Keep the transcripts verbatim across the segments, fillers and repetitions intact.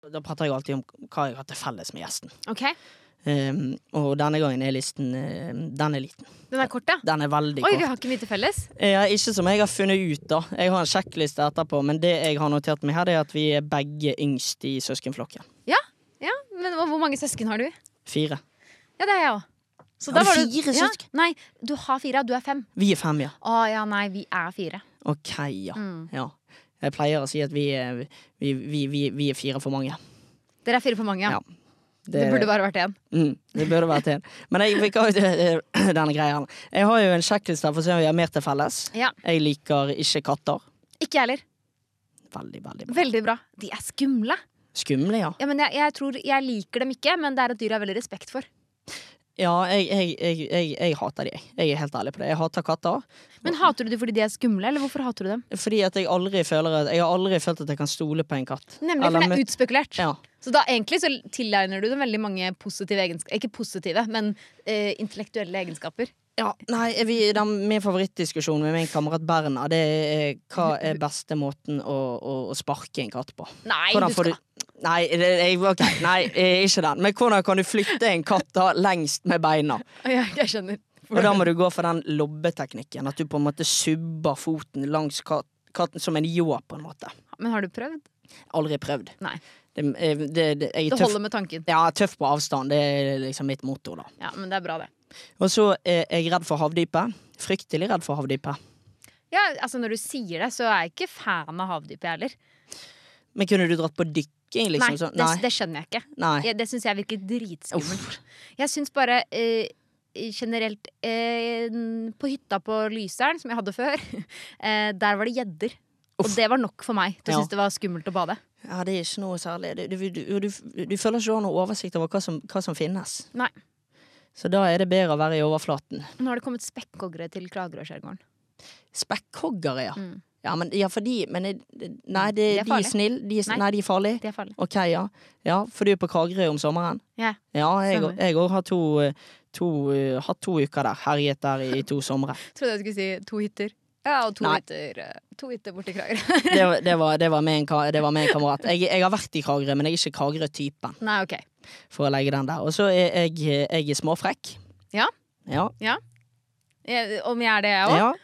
Da prater jeg alltid om hva jeg har til felles med gjesten. Ok. Um, og denne gangen er listen uh, Den er liten. Den er kort, ja? Den er veldig Oi, kort. vi har ikke mye til felles? Ja, ikke som jeg har funnet ut da. Jeg har en sjekkliste etterpå, men det jeg har notert meg her, det er at vi er begge yngst i søskenflokken. Ja, ja. Men hvor mange søsken har du? Fire. Ja, det er jeg også. Så Har da du var fire ja, søsken? Nei, du har fire, du er fem. Vi er fem, ja. Å ja, nei, vi er fire. Ok, ja. Mm. ja. Jeg pleier å si at vi er, vi, vi, vi, vi er fire for mange. Dere er fire for mange, ja. Ja. Det, det burde bare vært en. Mm, det burde vært en. Men jeg, vi kan, denne greia her. Jeg har jo en sjekkliste for å se om vi har mer til felles. Ja. Jeg liker ikke katter. Ikke jeg heller. Veldig, veldig bra. Veldig bra. De er skumle. Skumle, ja. Ja, men jeg, jeg tror jeg liker dem ikke, men det er et dyr jeg har veldig respekt for. Ja, jeg, jeg, jeg, jeg, jeg hater de. Jeg er helt ærlig på det. Jeg hater katter. Men hater du dem fordi de er skumle, eller hvorfor hater du dem? Fordi at jeg aldri føler at Jeg har aldri følt at jeg kan stole på en katt. Nemlig, Eller for det med- er utspekulert. Ja. Så da egentlig så tilegner du dem veldig mange positive egenskaper. Ikke positive, men eh, intellektuelle egenskaper. Ja, nei, vi, den, min favorittdiskusjon med min kamerat Berna, det er hva er beste måten å, å, å sparke en katt på. Nei, Hvordan du får skal... du Nei, det, jeg, ok, nei, ikke den. Men hvordan kan du flytte en katt da lengst med beina? Ja, jeg skjønner. Og da må du gå for den lobbeteknikken. At du på en måte subber foten langs kat, katten som en ljå, på en måte. Men har du prøvd? Aldri prøvd. Nei. Det, det, det, jeg er Det tøff, holder med tanken. ja, tøff på avstand. Det er liksom mitt motto, da. Ja, men det er bra det. Og så er jeg redd for havdypet. Fryktelig redd for havdypet. Ja, altså når du sier det, så er jeg ikke fan av havdypet heller. Men kunne du dratt på dykking, liksom? Nei, sånn? det, det skjønner jeg ikke. Nei. Jeg, det syns jeg virker dritskummelt. Jeg syns bare eh, generelt eh, på hytta på Lyseren, som jeg hadde før, eh, der var det gjedder. Og det var nok for meg til å Ja. synes det var skummelt å bade. Ja, det er ikke noe særlig. Du, du, du, du, du føler ikke du har noe oversikt over hva som, hva som finnes. Nei. Så da er det bedre å være i overflaten. Nå har det kommet spekkhoggere til Kragerø-skjærgården. Spekkhoggere, ja. Mm. Ja, men, ja, for de men det, det- Nei, det, De er de er farlige. snille. De er, Nei. nei, de er farlige. Det er farlig. Ok, ja. Ja, for du er på Kragerø om sommeren? Ja. Ja, jeg Stemmer. jeg òg har to, to, uh, hatt to uker der. Herjet der i to somre. Trodde jeg skulle si to hytter. Ja, og to Nei. hytter, eh, to hytter borti Kragerø. Det, var- det, var, det, var med en, ka- det var med en kamerat. Jeg, jeg har vært i Kragerø, men jeg er ikke Kragerø-typen. Nei, ok. For å legge den der. Og så er jeg, jeg er småfrekk. Ja. Ja. Jeg, om jeg er det, jeg òg? ja.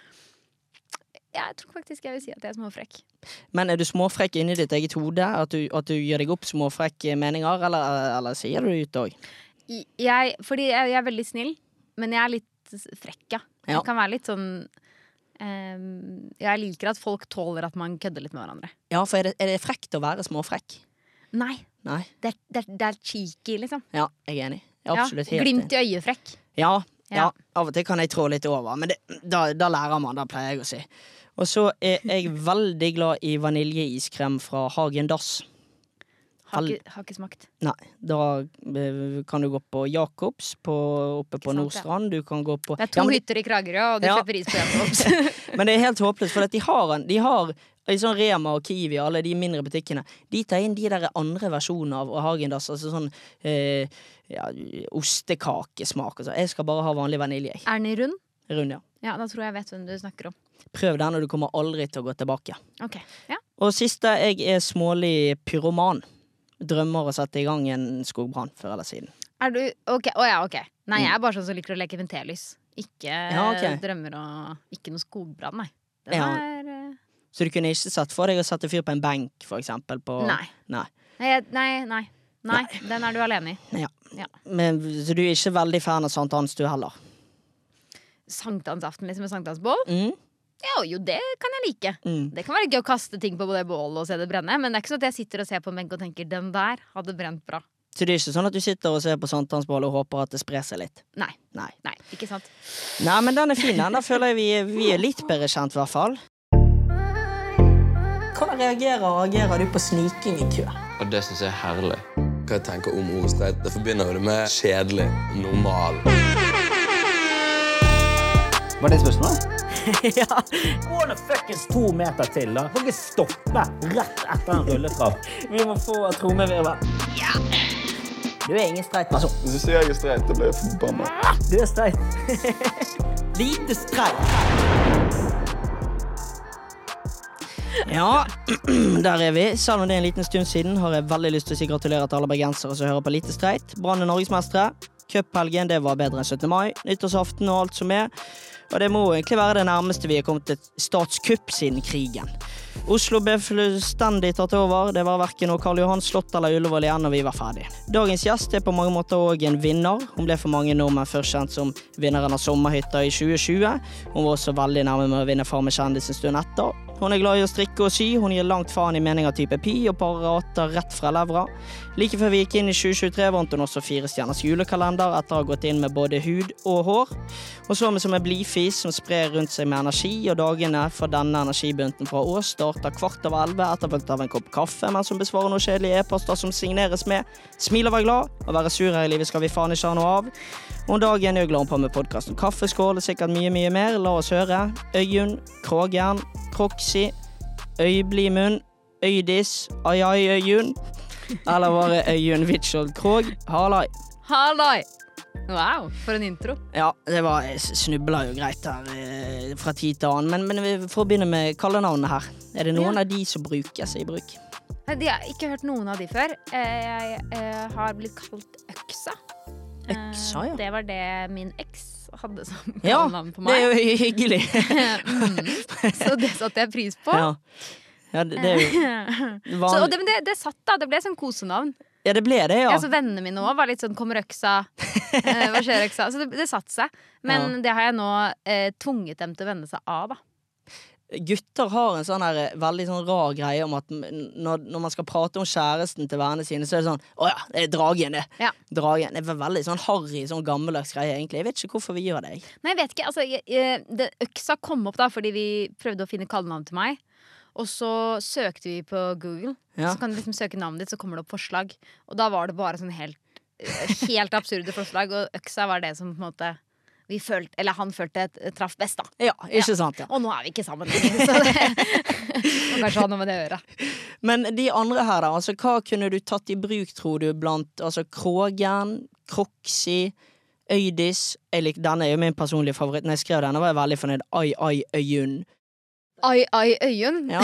Jeg tror faktisk jeg vil si at jeg er småfrekk. Men er du småfrekk inni ditt eget hode? At du, at du gjør deg opp småfrekke meninger, eller, eller sier du det ut òg? Jeg, fordi jeg, jeg er veldig snill, men jeg er litt frekk, ja. Ja. Jeg kan være litt sånn ehm, Jeg liker at folk tåler at man kødder litt med hverandre. Ja, for er det, er det frekt å være småfrekk? Nei, Nei. det, er- det, er- det er cheeky, liksom. Ja, jeg er enig. Jeg er absolutt helt Glimt i øyet-frekk. Ja, ja, Ja. av og til kan jeg trå litt over, men det, da, da lærer man, da pleier jeg å si. Og så er jeg veldig glad i vaniljeiskrem fra Hagen Dass. Har, Vel- ikke- har ikke smakt. Nei, da eh, kan du gå på Jacobs på, oppe på sant, ja. Nordstrand. Du kan gå på Det er to Ja, men, hytter i Kragerø, og du Ja. slipper is på Jacobs. men det er helt håpløst, for at de har, en, de har i sånn Rema og Kiwi, alle de mindre butikkene, de tar inn de der andre versjonene av Hagen Dass, altså sånn eh, ja, ostekakesmak og så. Jeg skal bare ha vanlig vanilje. jeg. Er den i rund? Rund, ja. Ja, da tror jeg jeg vet hvem du snakker om. Prøv den, og du kommer aldri til å gå tilbake. Ok, ja. Og siste, jeg er smålig pyroman. Drømmer å sette i gang en skogbrann før eller siden. Er du, ok, å ja, ok. Nei, jeg er bare sånn som liker å leke ventelys. Ikke Ja, ok. drømmer og ikke noe skogbrann, nei. Den Ja. er eh, Så du kunne ikke satt for deg å sette fyr på en benk, for eksempel? På, Nei. Nei. Nei, jeg- nei, nei. Nei, den er du alene i. Ja. Ja. Men, så du er ikke veldig fan av sankthans, du heller? Sankthansaften liksom med sankthansbål? Mm? Ja, jo, det kan jeg like. Mm. Det kan være gøy å kaste ting på det bålet og se det brenne, men det er ikke sånn at jeg sitter og ser på en benk og tenker den der hadde brent bra. Så det er ikke sånn at du sitter og ser på sankthansbål og håper at det sprer seg litt? Nei, Nei. nei, ikke sant. Nei, men den er fin, den. Da føler jeg vi, er- vi er litt bedre kjent, i hvert fall. Hvordan reagerer og agerer du på sniking i kø? Og det synes jeg er herlig. Hva jeg tenker om ordet streit, det forbinder jo det med kjedelig, normal. Var det spørsmålet? Ja. Gå nå fuckings to meter til, da. Får ikke stoppe rett etter en rulletrapp. Vi må få trommevirvel. Ja. Du er ingen streit person. Hvis du sier jeg er streit, da blir jeg forbannet. Du er streit. Lite streit. Ja, der er vi. Selv om det er en liten stund siden, har jeg veldig lyst til å si gratulerer til alle bergensere som hører på Lite Streit. Brann er norgesmestere. Cuphelgen, det var bedre enn syttende mai. Nyttårsaften og alt som er. Og det må egentlig være det nærmeste vi har kommet til statskupp siden krigen. Oslo ble fullstendig tatt over. Det var hverken noe Karl Johan slott eller Ullevål igjen når vi var ferdig. Dagens gjest er på mange måter også en vinner. Hun ble for mange nordmenn først kjent som vinneren av Sommerhytta i tjue tjue. Hun var også veldig nærme med å vinne Farmen kjendis en stund etter. Hun er glad i å strikke og sy, hun gir langt faen i meninger type pi og parater rett fra levra. Like før vi gikk inn i tjue tjuetre vant hun også fire stjerners julekalender etter å ha gått inn med både hud og hår. Hun så meg som en blifis som sprer rundt seg med energi, og dagene for denne energibunten fra Ås starter kvart av elleve etterfulgt av en kopp kaffe, mens hun besvarer noen kjedelige e-poster som signeres med «Smil og vær glad, og være sur her i livet skal vi faen ikke ha noe av». Og en dag er jeg glad på med podcasten Kaffeskål og sikkert mye, mye mer. La oss høre. Øyunn, Krågjern, Proxy, Øyblimunn, Øydis, Ai Ai Øyunn, eller var det Øyunn Vitskjold Krog? Hallai. Halloi! Wow, for en intro. Ja, det var, jeg snubla jo greit her eh, fra tid til annen, men, men vi får begynne med kallenavnene her. Er det noen Ja. av de som brukes i bruk? De har ikke hørt noen av de før. Eh, Jeg eh, har blitt kalt Øksa. Eh, Øksa, ja. Det var det min eks hadde som Ja, kallenavn på det er meg. jo hyggelig. mm. Så det satte jeg pris på. Ja, ja det, det er jo Så, og vanlig. det, men det, det satt da, det ble sånn kosenavn. Ja, det ble det, ja. Ja, så vennene mine også var litt sånn, kommer øksa, eh, hva skjer øksa? Så det, det satt seg. Men det har jeg nå eh, tvunget dem til å vende seg av da. Gutter har en sånn her veldig sånn rar greie om at når, når man skal prate om kjæresten til vennene sine, så er det sånn, åja, det er dragen det. Ja. Dragen, det er veldig sånn harry, sånn gammeldags greie egentlig. Jeg vet ikke hvorfor vi gjør det. jeg. Nei, jeg vet ikke, altså jeg, jeg, det, øksa kom opp da fordi vi prøvde å finne kallenavn til meg. Og så søkte vi på Google. Ja. Så kan du liksom søke navnet ditt, så kommer det opp forslag. Og da var det bare sånn helt, helt absurde forslag. Og øksa var det som på en måte vi følte, eller han følte et, et traff best da. Ja, ikke sant, ja. Og nå er vi ikke sammen lenger, så det må kanskje ha noe med det å gjøre. Men de andre her da, altså hva kunne du tatt i bruk, tror du, blant altså Krågen, Proxy, Øydis? Jeg lik, denne er jo min personlige favoritt. Når jeg skrev denne var jeg veldig fornøyd. Ai, ai, Øyunn. Ai, ai, Øyunn. Ja.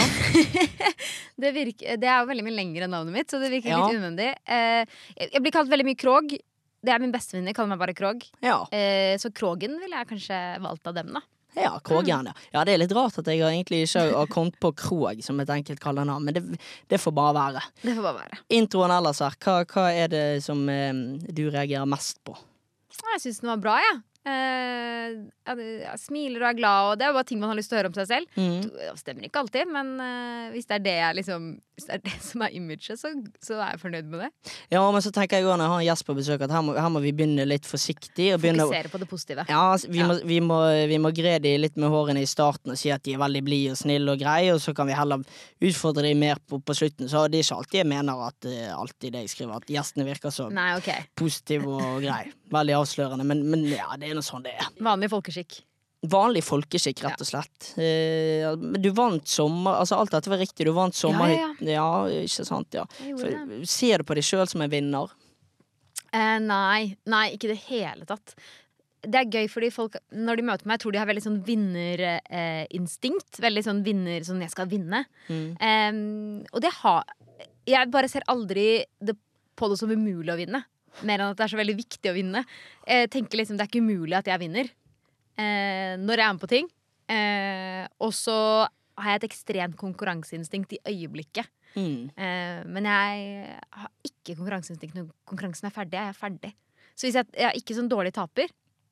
det, virker, det er jo veldig mye lenger enn navnet mitt, så det virker Ja. litt unødvendig. Eh, jeg, jeg blir kalt veldig mye Krog. Det er min bestevenninne, kaller meg bare Krog. Ja. Eh, så Krogen ville jeg kanskje valgt av dem, da. Ja, Krågen, ja. Ja, det er litt rart at jeg har egentlig ikke har kommet på Krog som et enkelt kallenavn, men det, det får bare være. Det får bare være. Introen ellers her, hva, hva er det som eh, du reagerer mest på? Jeg syns den var bra, jeg. Ja. Eh, jeg, jeg smiler og er glad, og det er jo bare ting man har lyst til å høre om seg selv. Mm. Det stemmer ikke alltid, men eh, hvis det er det jeg liksom Hvis det er det som er imaget, så, så er jeg fornøyd med det. Ja, men så tenker jeg også når jeg har en gjest på besøk at her må, her må vi begynne litt forsiktig og begynne å- Fokusere på det positive. Ja, vi, Ja. Må, vi, må, vi må gre de litt med hårene i starten og si at de er veldig blide og snille og greie, og så kan vi heller utfordre de mer på, på slutten. Så det er ikke alltid jeg mener at uh, alltid det jeg skriver, at gjestene virker så Nei, ok. positive og grei. Veldig avslørende, men, men ja, det er noe sånn det er. Vanlig folkeskikk. Vanlig folkeskikk, rett og slett. Eh, men du vant sommer... Altså, alt dette var riktig. Du vant sommerhytten. Ja, ja, ikke sant, ja. Jeg gjorde det. For, ser du på deg sjøl som en vinner? Eh, nei, nei, ikke i det hele tatt. Det er gøy fordi folk, når de møter meg, jeg tror de har veldig sånn vinnerinstinkt. Veldig sånn vinner, sånn jeg skal vinne. Mm. Em, og det har Jeg bare ser aldri det, på det som umulig å vinne. Mer enn at det er så veldig viktig å vinne. Jeg tenker liksom, det er ikke umulig at jeg vinner eh, når jeg er med på ting. Eh, og så har jeg et ekstremt konkurranseinstinkt i øyeblikket. Mm. Eh, men jeg har ikke konkurranseinstinkt når konkurransen er ferdig. Jeg er ferdig. Så hvis jeg, jeg er ikke sånn dårlig taper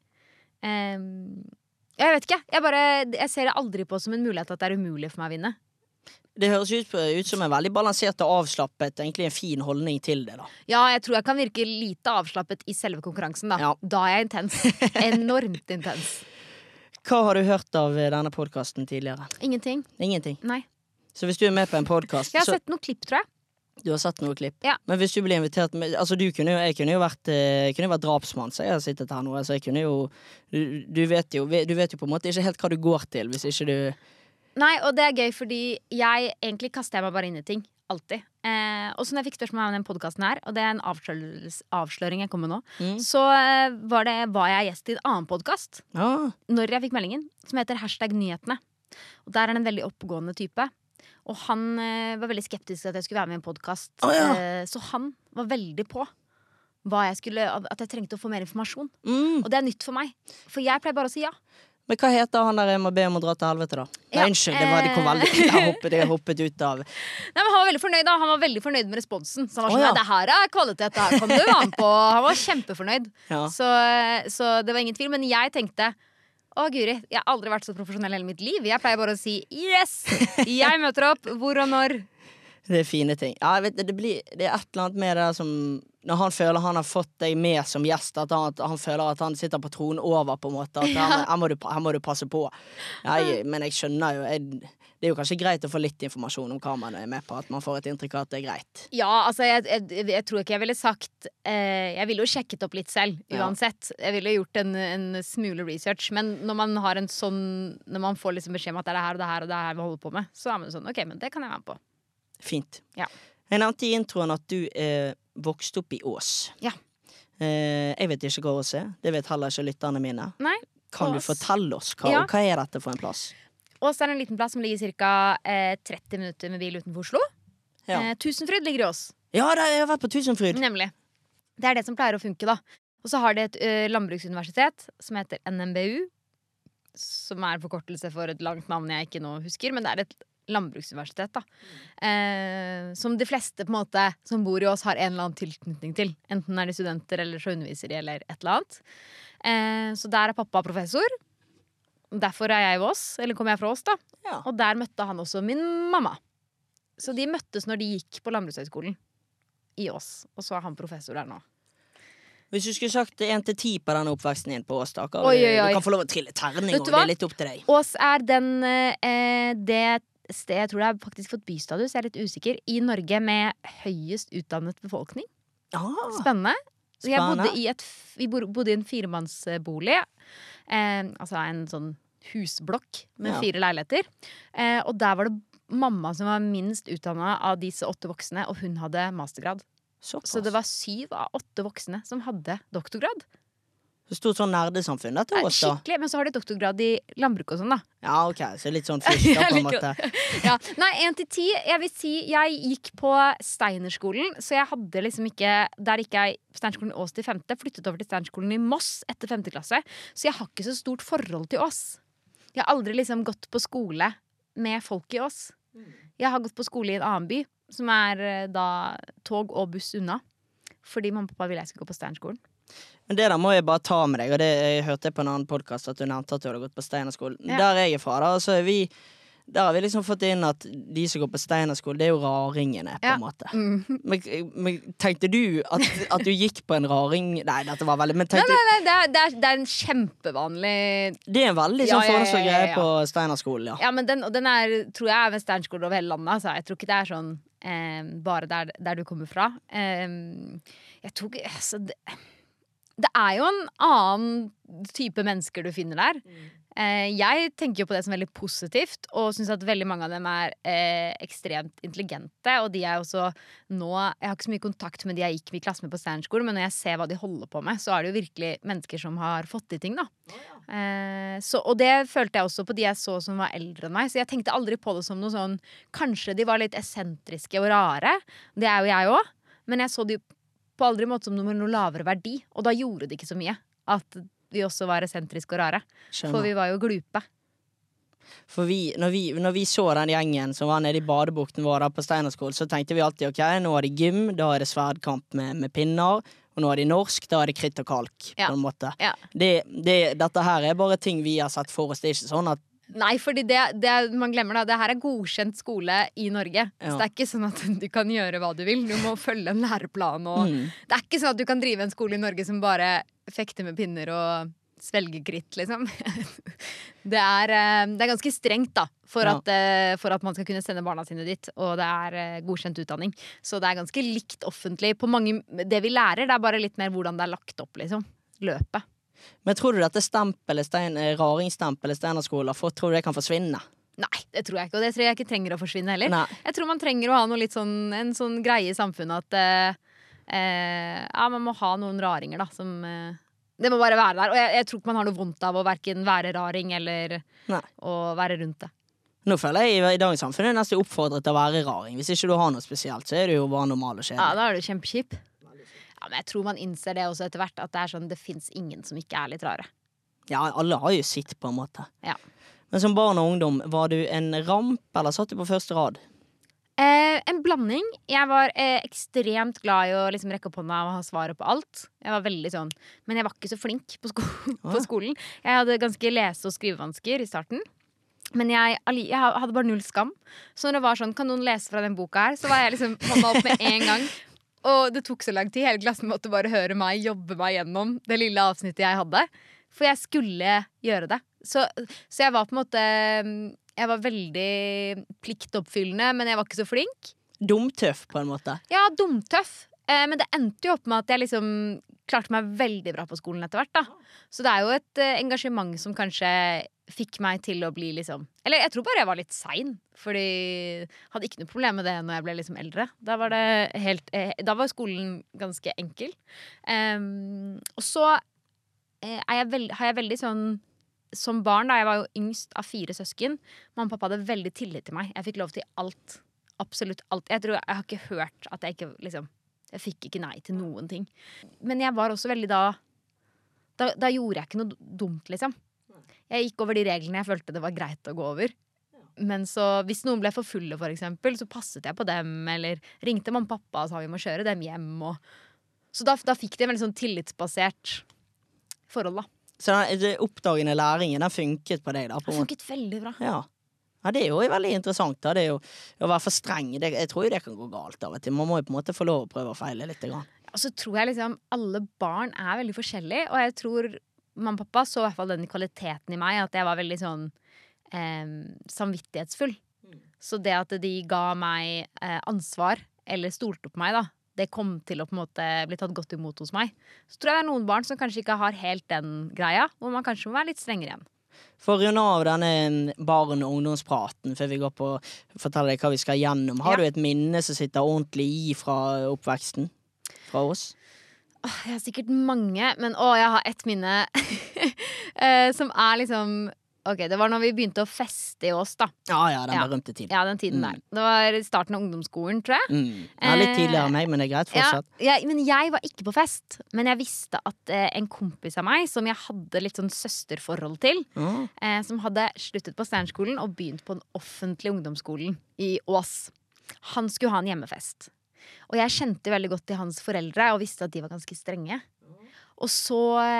eh, Jeg vet ikke. Jeg, bare, jeg ser det aldri på som en mulighet at det er umulig for meg å vinne. Det høres ut, på, ut som en veldig balansert og avslappet, egentlig en fin holdning til det, da. Ja, jeg tror jeg kan virke lite avslappet i selve konkurransen. Da, Ja. da er jeg intens. Enormt intens. Hva har du hørt av denne podkasten tidligere? Ingenting. Ingenting. Nei. Så hvis du er med på en podkast Jeg har sett noen klipp, tror jeg. Du har sett noe klipp? Ja. Men hvis du blir invitert med, altså du kunne jo, Jeg kunne jo vært, eh, kunne jo vært drapsmann, så jeg har sittet her nå. Altså jeg kunne jo du, du, vet jo du vet jo på en måte ikke helt hva du går til hvis ikke du Nei, og det er gøy, fordi jeg egentlig kaster jeg meg bare inn i ting. Alltid. Eh, og så når jeg fikk spørsmål om den podcasten her, og det er en avslør avsløring jeg kom med nå, Mm. så eh, var, det, var jeg gjest i en annen podcast Ja. når jeg fikk meldingen, som heter Hashtag nyhetene. Og der er det en veldig oppegående type. Og han eh, var veldig skeptisk til at jeg skulle være med i en podcast. Å, ja. eh, Så han var veldig på hva jeg skulle, at jeg trengte å få mer informasjon. Mm. Og det er nytt for meg. For jeg pleier bare å si ja. Men hva heter han der jeg må be om å dra til helvete, da? Nei, Ja, unnskyld, det var, det kom eh. veldig Jeg hoppet, jeg hoppet ut av Nei, men Han var veldig fornøyd da Han var veldig fornøyd med responsen. Så han var Å, sånn, ja. «Nei, det her er kvalitet, det her kan du være med på». Han var kjempefornøyd. Ja. så, så det var ingen tvil. Men jeg tenkte å Guri, jeg har aldri vært så profesjonell hele mitt liv. Jeg pleier bare å si yes, jeg møter opp, hvor og når. Det er fine ting. Ja, jeg vet, det, blir, det er et eller annet med det som når han føler han har fått deg med som gjest, at han, at han føler at han sitter på tronen over, på en måte. At her, her, må, du, her må du passe på. Jeg, men jeg skjønner jo jeg, det er jo kanskje greit å få litt informasjon om hva man er med på. At man får et inntrykk av at det er greit. Ja, altså jeg, jeg, jeg tror ikke jeg ville sagt eh, Jeg ville jo sjekket opp litt selv, uansett. Jeg ville gjort en, en smule research. Men når man har en sånn når man får liksom beskjed om at det er det her og det her og det her vi holder på med, så er man sånn, ok, men det kan jeg være med på. Fint. Ja. Jeg nevnte i introen at du eh, vokste opp i Ås. Ja. Eh, jeg vet ikke hva Ås er. Det vet heller ikke lytterne mine. Nei, Kan du Ås. fortelle oss hva, Ja. hva er dette for en plass? Ås er en liten plass som ligger ca. Eh, tretti minutter med bil utenfor Oslo. Ja, eh, Tusenfryd ligger i Ås. ja det, jeg har vært på Tusenfryd. Nemlig. Det er det som pleier å funke, da. Og så har det et ø, landbruksuniversitet som heter N M B U. Som er forkortelse for et langt navn jeg ikke nå husker. Men det er et landbruksuniversitet, da. Eh, som de fleste på en måte som bor i Ås, har en eller annen tilknytning til. Enten er de studenter, eller så underviser de, eller et eller annet. Eh, så der er pappa professor. Derfor er jeg i Ås. Eller kommer jeg fra Ås, da. Ja. Og der møtte han også min mamma. Så de møttes når de gikk på Landbrukshøgskolen i Ås. Og så er han professor der nå. Hvis du skulle sagt én til ti på denne oppveksten din på Ås, da, hva- Oi, oi, oi. du kan få lov å trille terning, Vet og du det hva? er litt opp til deg. Ås er den eh, det sted, jeg tror det har faktisk fått bystatus, jeg er litt usikker, i Norge med høyest utdannet befolkning. Ah, Spennende. Så jeg Spennende. bodde i, et, f- vi bor- bodde i en firemannsbolig. Eh, altså en sånn husblokk med Ja. fire leiligheter. Eh, og der var det mamma som var minst utdannet av disse åtte voksne, og hun hadde mastergrad. såpass. Så det var syv av åtte voksne som hadde doktorgrad. Så stort sånn nerdesamfunn dette Eh, Ås, da. Skikkelig, men så har de doktorgrad i landbruk og sånn, da. Ja, ok, så litt sånn først, da, på en Jeg måte. liker Ja. Nei, én til ti. Jeg vil si jeg gikk på Steinerskolen, så jeg hadde liksom ikke Der gikk jeg på Steinerskolen i Ås til femte, flyttet over til Steinerskolen i Moss etter femte klasse. Så jeg har ikke så stort forhold til Ås. Jeg har aldri liksom gått på skole med folk i Ås. Jeg har gått på skole i en annen by, som er eh, da tog og buss unna. Fordi mamma og pappa ville jeg skulle gå på Steinerskolen. Men det der må jeg bare ta med deg, og det jeg hørte jeg på en annen podcast at du nevnte at du hadde gått på Steinerskolen. Ja. Der jeg er fra, da, så er vi der har vi liksom fått inn at de som går på Steinerskolen, det er jo raringene, på Ja. en måte. Mm. Men, men tenkte du at, at du gikk på en raring Nei, dette var veldig Men Nei, tenkte nei, nei, det er, det er, det er en kjempevanlig Det er en veldig Ja, sånn ja, ja, fordomsfull ja, greie ja. på Steinerskolen, ja. Ja, men den, og den er, tror jeg er ved Steinerskolen over hele landet. Altså. Jeg tror ikke det er sånn eh, bare der, der du kommer fra. Eh, jeg tror ikke altså, det, det er jo en annen type mennesker du finner der. Eh, jeg tenker jo på det som veldig positivt, og syns at veldig mange av dem er eh, ekstremt intelligente. Og de er også nå Jeg har ikke så mye kontakt med de jeg gikk i klasse med på Steinerskolen, men når jeg ser hva de holder på med, så er det jo virkelig mennesker som har fått til ting, da. Eh, så, og det følte jeg også på de jeg så som var eldre enn meg. Så jeg tenkte aldri på det som noe sånn kanskje de var litt eksentriske og rare. Det er jo jeg òg. Men jeg så de på aldri måte som noe med noe lavere verdi. Og da gjorde det ikke så mye at vi også var eksentriske og rare. Skjønner. For vi var jo glupe. For vi, når, vi, når vi så den gjengen som var nede i badebukten vår da på Steinerskolen, så tenkte vi alltid ok, nå har de gym, da er det sverdkamp med, med pinner. Og nå er de norsk, da er det kritt og kalk. Ja. På en måte. Ja. Det, det, dette her er bare ting vi har sett for oss. Det er ikke sånn at Nei, fordi det, det man glemmer da det her er godkjent skole i Norge. Ja. Så det er ikke sånn at du kan gjøre hva du vil. Du må følge en læreplan. Og mm, det er ikke sånn at du kan drive en skole i Norge som bare fekter med pinner og svelger kritt, liksom. Det er, eh, det er ganske strengt, da, for, Ja. at, eh, for at man skal kunne sende barna sine dit. Og det er eh, godkjent utdanning. Så det er ganske likt offentlig på mange. Det vi lærer, det er bare litt mer hvordan det er lagt opp, liksom. Løpet. Men tror du dette stempelet, stein, eh, raringsstempelet Steinerskolen har fått, tror du det kan forsvinne? Nei, det tror jeg ikke. Og det tror jeg ikke trenger å forsvinne heller. Nei. Jeg tror man trenger å ha noe litt sånn, en sånn greie i samfunnet at eh, eh, ja, man må ha noen raringer, da, som eh, det må bare være der. Og jeg, jeg tror ikke man har noe vondt av å hverken være raring eller Nei. å være rundt det. Nå føler jeg i dagens samfunn er nesten oppfordret til å være raring. Hvis ikke du har noe spesielt, så er det jo bare normal og Ja, kjedelig. da er du kjempekjip. Ja, men jeg tror man innser det også etter hvert, at det er sånn, det finnes ingen som ikke er litt rare. Ja, alle har jo sitt på en måte. Ja. Men som barn og ungdom, var du en ramp, eller satt du på første rad? Eh, en blanding. Jeg var eh, ekstremt glad i å liksom, rekke opp hånda og ha svaret på alt. Jeg var veldig sånn. Men jeg var ikke så flink på, sko på skolen. Jeg hadde ganske lese- og skrivevansker i starten. Men jeg, jeg hadde bare null skam. Så når det var sånn, kan noen lese fra den boka her, så var jeg liksom hånda opp med en gang. Og det tok så lang tid. Hele klassen måtte bare høre meg jobbe meg gjennom det lille avsnittet jeg hadde. For jeg skulle gjøre det. Så, så jeg var på en måte Jeg var veldig pliktoppfyllende, men jeg var ikke så flink. Dumtøff, på en måte. Ja, dumtøff. Eh, men det endte jo opp med at jeg liksom klarte meg veldig bra på skolen etter hvert. Da. Så det er jo et eh, engasjement som kanskje fikk meg til å bli liksom Eller jeg tror bare jeg var litt sein. Fordi jeg hadde ikke noe problem med det når jeg ble liksom eldre. Da var, det helt, eh, da var skolen ganske enkel. Um, og så eh, er jeg veld, har jeg veldig sånn som barn, da, jeg var jo yngst av fire søsken. Mamma og pappa hadde veldig tillit til meg. Jeg fikk lov til alt. Absolutt alt. Jeg tror jeg har ikke hørt at jeg ikke liksom Jeg fikk ikke nei til noen ting. Men jeg var også veldig da Da, da gjorde jeg ikke noe dumt, liksom. Jeg gikk over de reglene jeg følte det var greit å gå over. Men så, hvis noen ble for fulle, for eksempel, så passet jeg på dem. Eller ringte mamma og pappa og sa vi må kjøre dem hjem. Og... Så da, da fikk de en veldig sånn tillitsbasert forhold, da. Så den oppdagende læringen, den funket på deg da? På Det funket veldig bra. Ja. Ja, det er jo veldig interessant da. Det er jo å være for streng. Det, jeg tror jo det kan gå galt av og til. Man må jo på en måte få lov å prøve å feile litt. Grann. Og så tror jeg liksom alle barn er veldig forskjellige, og jeg tror mamma og pappa så i hvert fall den kvaliteten i meg, at jeg var veldig sånn eh, samvittighetsfull. Så det at de ga meg eh, ansvar, eller stolte på meg da, det kom til å på en måte bli tatt godt imot hos meg. Så tror jeg det er noen barn som kanskje ikke har helt den greia, hvor man kanskje må være litt strengere igjen. For å runde av denne barn- og ungdomspraten før vi går på å fortelle deg hva vi skal gjennom, har Ja. du et minne som sitter ordentlig i fra oppveksten? Fra oss? Åh, jeg har sikkert mange, men å, jeg har ett minne eh, som er liksom Ok, det var når vi begynte å feste i Ås, da. Ja, ja, den Ja. berømte tiden. Ja, den tiden Mm. der. Det var starten av ungdomsskolen, tror jeg. Mm. Ja, litt Eh, tidligere enn meg, men det er greit fortsatt. Ja, jeg, men jeg var ikke på fest. Men jeg visste at eh, en kompis av meg, som jeg hadde litt sånn søsterforhold til, Mm. eh, som hadde sluttet på Sternskolen og begynt på den offentlige ungdomsskolen i Ås, han skulle ha en hjemmefest. Og jeg kjente veldig godt til hans foreldre og visste at de var ganske strenge. Og så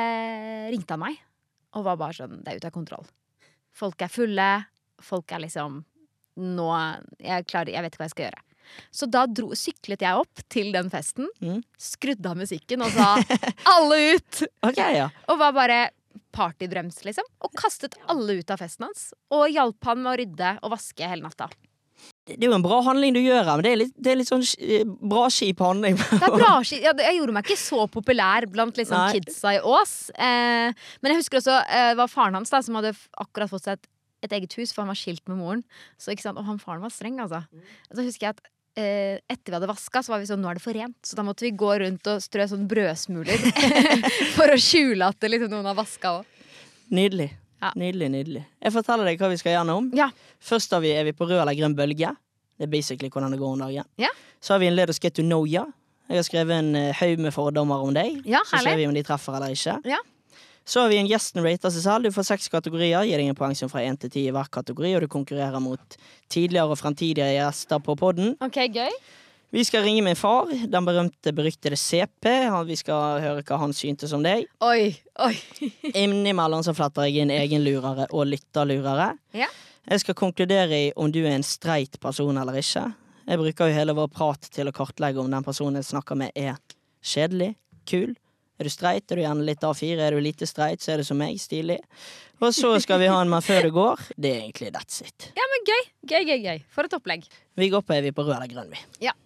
eh, ringte han meg og var bare sånn, det er ute av kontroll. Folk er fulle, folk er liksom nå, jeg, klarer, jeg vet ikke hva jeg skal gjøre. Så da dro, syklet jeg opp til den festen, Mm. skrudde av musikken og sa alle ut! Ok, ja. Og var bare partybrems, liksom. Og kastet alle ut av festen hans. Og hjalp han med å rydde og vaske hele natta. Det er jo en bra handling du gjør her, men det er litt, det er litt sånn eh, bra kjip handling. Det er bra, ski- ja, det- jeg gjorde meg ikke så populær blant liksom, Nei. kidsa i Ås. Eh, men jeg husker også eh, det var faren hans da, som hadde f- akkurat fått seg et, et eget hus, for han var skilt med moren. Så, ikke sant? Og han faren var streng, altså. Så husker jeg at eh, etter vi hadde vaska, så var vi sånn, nå er det for rent. Så da måtte vi gå rundt og strø sånn brødsmuler for å skjule at det, liksom, noen har vaska òg. Nydelig. Ja. Nydelig, nydelig. Jeg forteller deg hva vi skal gjennom. Ja. Først har vi, er vi på rød eller grønn bølge. Det er basically hvordan det går om dagen. Ja. Så har vi en Let us get to know ya. Jeg har skrevet en eh, haug med fordommer om deg. Ja, Så ser herlig. vi om de treffer eller ikke. Ja. Så har vi en gjesten rater seg selv. Du får seks kategorier. Gir deg en poeng som fra én til ti i hver kategori, og du konkurrerer mot tidligere og fremtidige gjester på podden. Ok, gøy. Vi skal ringe min far, den berømte, beryktede C P. Han- Vi skal høre hva han syntes om deg. Oi, oi. Innimellom så fletter jeg inn egenlurere og lytterlurere. Ja. Jeg skal konkludere i om du er en streit person eller ikke. Jeg bruker jo hele vår prat til å kartlegge om den personen jeg snakker med er kjedelig, kul. Er du streit, er du gjerne litt A fire. Er du lite streit, så er det som meg, stilig. Og så skal vi ha en Men før det går. Det er egentlig that's it. Ja, men gøy. Gøy, gøy, gøy. For et opplegg. Vi går på, er vi på rød eller grønn, vi. Ja.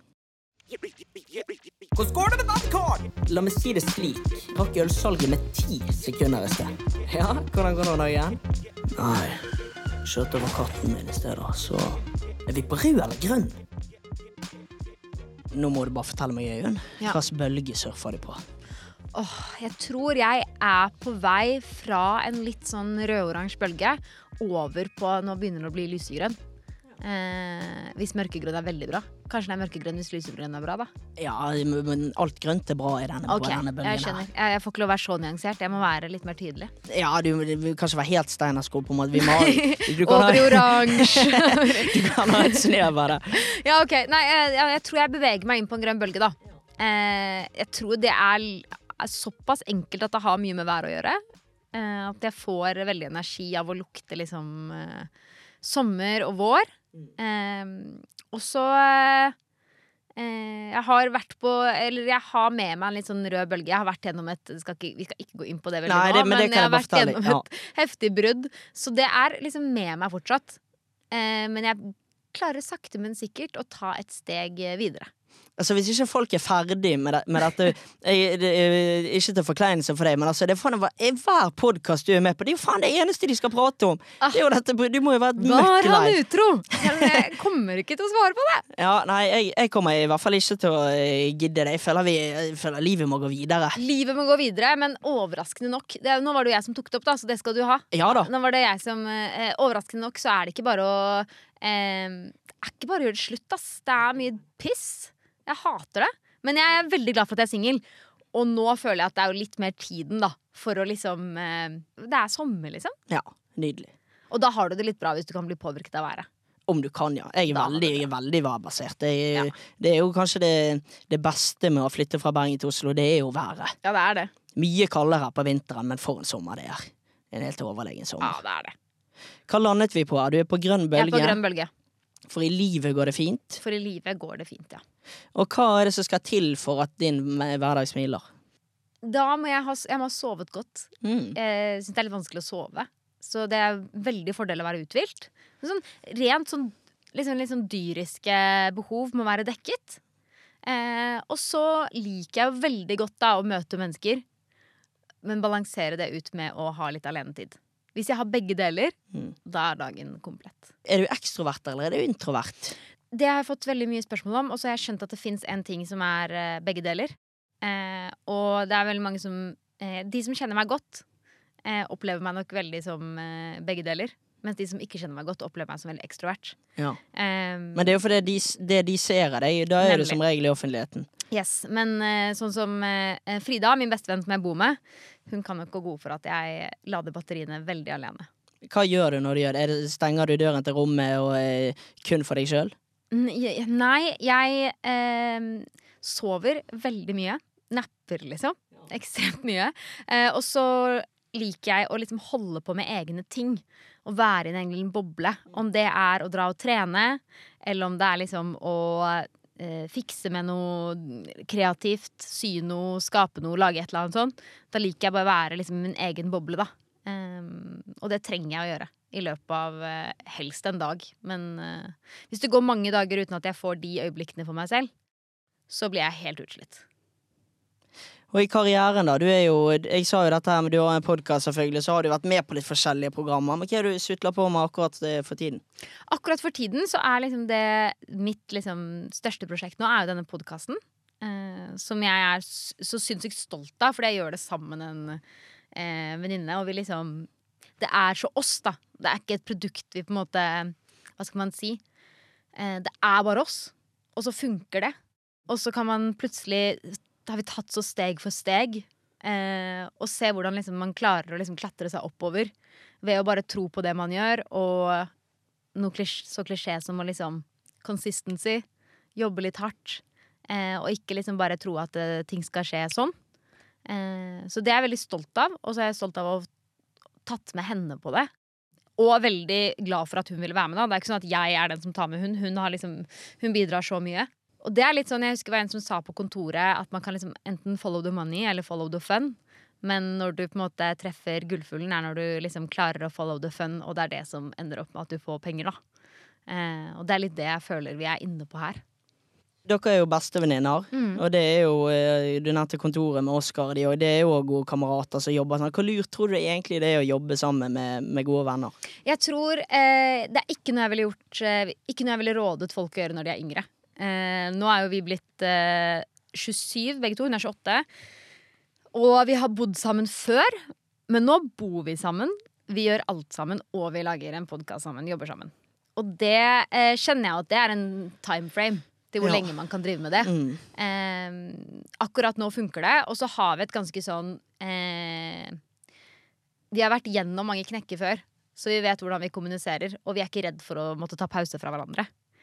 Hvordan går det med badkar? La meg si det slik. Rakk ølsalget med ti sekunder i sted. Ja, hvordan går det nå igjen? Nei, kjørte over katten min i stedet, så er vi på rød eller grønn? Nå må du bare fortelle meg, Øyunn. Ja. Hva slags bølge surfer du på? Åh, jeg tror jeg er på vei fra en litt sånn rød-oransje bølge over på, nå begynner det å bli lysegrønn. Eh, hvis mørkegrønn er veldig bra. Kanskje den er mørkegrønn hvis lysegrønn er bra, da. Ja, men alt grønt er bra i denne, Ok, på denne bølgen jeg skjønner. Jeg, jeg får ikke lov å være så nyansert. Jeg må være litt mer tydelig. her. Ja, du, du kan ikke være helt steinersko på en måte. Vi må, du, kan Over i ha, oransje. du kan ha et snev av det. Ja, ok. Nei, jeg, jeg, jeg tror jeg beveger meg inn på en grønn bølge, da. Eh, jeg tror det er, er såpass enkelt at det har mye med været å gjøre. Eh, at jeg får veldig energi av å lukte liksom eh, sommer og vår. Eh, og så eh, jeg har vært på Eller jeg har med meg en litt sånn rød bølge. Jeg har vært gjennom et skal ikke, Vi skal ikke gå inn på det veldig Nei, nå, det- men men, det kan jeg jeg har bare vært fortelle. gjennom et heftig brudd. Så det er liksom med meg fortsatt. Eh, men jeg klarer sakte, men sikkert å ta et steg videre. Altså, hvis ikke folk er ferdig med, det, med dette jeg, det, er ikke til forkleinelse for deg, men altså, det er faen, hver podcast du er med på, det er jo faen det eneste de skal prate om. Ah. Det er jo dette, du må jo være Var møkk han lei. utro? Jeg kommer ikke til å svare på det. Ja, nei, jeg, jeg kommer i hvert fall ikke til å eh, gidde det. Jeg føler, vi, jeg føler livet må gå videre. Livet må gå videre, men overraskende nok det, Nå var det jo jeg som tok det opp, da, så det skal du ha. Ja da. Nå var det jeg som eh, Overraskende nok så er det ikke bare å eh, er ikke bare å gjøre det slutt, ass. Det er mye piss. Jeg hater det. Men jeg er veldig glad for at jeg er singel. Og nå føler jeg at det er jo litt mer tiden, da. For å liksom eh, Det er sommer, liksom. Ja, nydelig. Og da har du det litt bra hvis du kan bli påvirket av været. Om du kan, ja. Jeg er Da veldig, har du jeg er veldig værbasert. Det, er- Ja. det er jo kanskje det, det beste med å flytte fra Bergen til Oslo. Det er jo været. Ja, det er det. Mye kaldere her på vinteren, men for en sommer det er. En helt overlegen Ja, sommer. det er det. Hva landet vi på? Du er på grønn Jeg er på bølge. grønn bølge. For i livet går det fint. For i livet går det fint, ja. Og hva er det som skal til for at din hverdag smiler? Da må jeg ha, jeg må ha sovet godt. Mm. Jeg syns det er litt vanskelig å sove. Så det er veldig fordel å være uthvilt. Men Sånn, rent sånn, liksom, litt sånn dyriske behov må være dekket. Eh, og så liker jeg jo veldig godt da å møte mennesker, men balansere det ut med å ha litt alenetid. Hvis jeg har begge deler, Mm. da er dagen komplett. Er du ekstrovert eller er du introvert? Det har jeg fått veldig mye spørsmål om, og så har jeg skjønt at det finnes en ting som er eh, begge deler. Eh, og det er veldig mange som eh, De som kjenner meg godt, eh, opplever meg nok veldig som eh, begge deler. Mens de som ikke kjenner meg godt, opplever meg som veldig ekstrovert. Ja. Eh, Men det er jo fordi de, det de ser av deg, da er Nemlig. du som regel i offentligheten. yes, Men eh, sånn som eh, Frida, min bestevenn som jeg bor med, hun kan nok gå god for at jeg lader batteriene veldig alene. Hva gjør du når du gjør det? Er det stenger du døren til rommet og eh, kun for deg sjøl? N- jeg- Nei, jeg eh, sover veldig mye. Napper, liksom. Ekstremt mye. Eh, og så liker jeg å liksom holde på med egne ting. Å være i en egen boble. Om det er å dra og trene, eller om det er liksom å eh, fikse med noe kreativt. Sy noe, skape noe, lage et eller annet sånt. Da liker jeg bare å være liksom i min egen boble, da. Um, og det trenger jeg å gjøre i løpet av uh, helst en dag. Men uh, hvis det går mange dager uten at jeg får de øyeblikkene for meg selv, så blir jeg helt utslitt. Og i karrieren, da. Du er jo, jeg sa jo dette her, men du har en podkast, selvfølgelig, så har du vært med på litt forskjellige programmer. Men hva er det du sutler på med akkurat eh, for tiden? Akkurat for tiden så er liksom det mitt liksom, største prosjekt nå er jo denne podkasten. Uh, som jeg er s- så sinnssykt stolt av, fordi jeg gjør det sammen med en uh, venninne. Og vi liksom Det er så oss, da. Det er ikke et produkt vi på en måte Hva skal man si? Uh, det er bare oss. Og så funker det. Og så kan man plutselig Da har vi tatt så steg for steg. Uh, og se hvordan liksom, man klarer å liksom, klatre seg oppover ved å bare tro på det man gjør. Og noe klisj, så klisjé som å liksom consistency. Jobbe litt hardt. Eh, og ikke liksom bare tro at eh, ting skal skje sånn. Eh, så det er jeg veldig stolt av. Og så er jeg stolt av å ha tatt med henne på det. Og veldig glad for at hun ville være med. Da. Det er ikke sånn at jeg er den som tar med hun. Hun, har liksom, hun bidrar så mye. Og det er litt sånn, jeg husker det var en som sa på kontoret at man kan liksom enten follow the money eller follow the fun. Men når du på en måte treffer gullfuglen, er når du liksom klarer å follow the fun, og det er det som ender opp med at du får penger, da. Eh, og det er litt det jeg føler vi er inne på her. Dere er jo bestevenninner, Mm. og det er jo eh, du nevnte kontoret med Oskar, de, og det er jo gode kamerater som jobber sånn. Hvor lurt tror du egentlig det er å jobbe sammen med, med gode venner? Jeg tror eh, det er ikke noe jeg ville gjort eh, Ikke noe jeg ville rådet folk å gjøre når de er yngre. Eh, nå er jo vi blitt eh, tjuesyv, begge to. Hun er tjueåtte. Og vi har bodd sammen før, men nå bor vi sammen. Vi gjør alt sammen, og vi lager en podkast sammen. Jobber sammen. Og det eh, kjenner jeg at det er en time frame til hvor Ja. lenge man kan drive med det. Mm. Eh, akkurat nå funker det, og så har vi et ganske sånn eh, Vi har vært gjennom mange knekker før, så vi vet hvordan vi kommuniserer, og vi er ikke redd for å måtte ta pause fra hverandre.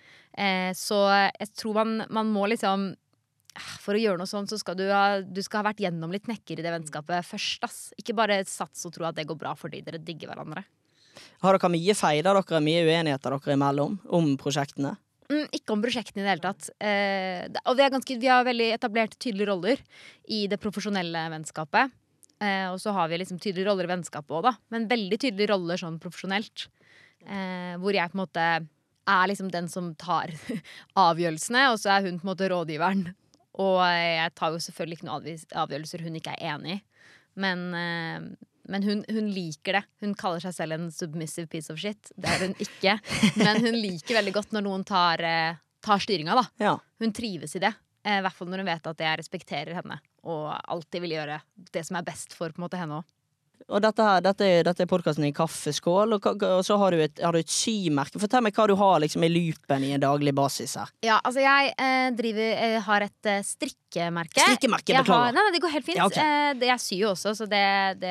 Eh, så jeg tror man, man må liksom For å gjøre noe sånt, så skal du ha, du skal ha vært gjennom litt knekker i det vennskapet først. Ass. Ikke bare sats og tro at det går bra fordi dere digger hverandre. Har dere mye feider dere, mye uenigheter dere imellom om prosjektene? Mm, ikke om prosjektene i det hele tatt. Eh, det- og vi, er ganske, vi har veldig etablert tydelige roller i det profesjonelle vennskapet. Eh, og så har vi liksom tydelige roller i vennskapet også, da. Men veldig tydelige roller sånn profesjonelt. Eh, hvor jeg på en måte er liksom den som tar avgjørelsene, og så er hun på en måte rådgiveren. Og jeg tar jo selvfølgelig ikke noen avvis- avgjørelser hun ikke er enig i. Men, eh, men hun, hun liker det. Hun kaller seg selv en submissive piece of shit. Det er hun ikke. Men hun liker veldig godt når noen tar, eh, tar styringa, da. Ja. Hun trives i det. Eh, I hvert fall når hun vet at jeg respekterer henne og alltid vil gjøre det som er best for på en måte henne også. Og dette, her, dette, er, dette er podcasten i kaffeskål, og, ka- og så har du, et, har du et symerke. Fortell meg hva du har liksom i loopen i en daglig basis her. Ja, altså jeg eh, driver, eh, har et eh, strikkemerke. Strikkemerke, Jeg har, beklager. nei, nei, det går helt fint. Ja, ok. eh, det, jeg syr jo også, så det, det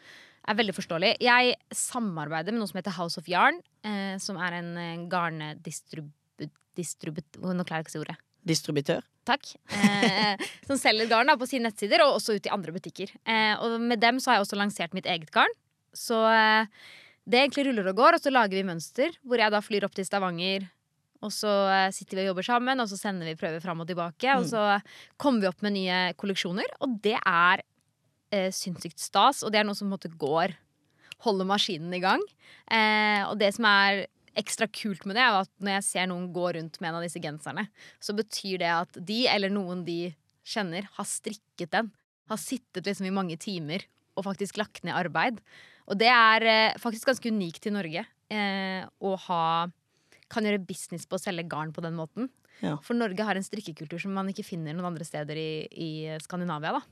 er veldig forståelig. Jeg samarbeider med noe som heter House of Yarn, eh, som er en eh, garndistribut... Distribut, nå klarer jeg ikke å si ordet. Distributør? Takk. Eh, som selger garn da, på sine nettsider, og også ut i andre butikker. Eh, og med dem så har jeg også lansert mitt eget garn. Så eh, det egentlig ruller og går, og så lager vi mønster, hvor jeg da flyr opp til Stavanger, og så eh, sitter vi og jobber sammen, og så sender vi prøver fram og tilbake, og så kommer vi opp med nye kolleksjoner, og det er eh, sinnssykt stas, og det er noe som på en måte går, holder maskinen i gang. Eh, og det som er ekstra kult med det er at når jeg ser noen gå rundt med en av disse genserne, så betyr det at de, eller noen de kjenner, har strikket den. Har sittet liksom i mange timer og faktisk lagt ned arbeid. Og det er eh, faktisk ganske unikt i Norge eh, å ha, kan gjøre business på å selge garn på den måten. Ja. For Norge har en strikkekultur som man ikke finner noen andre steder i, i Skandinavia, da.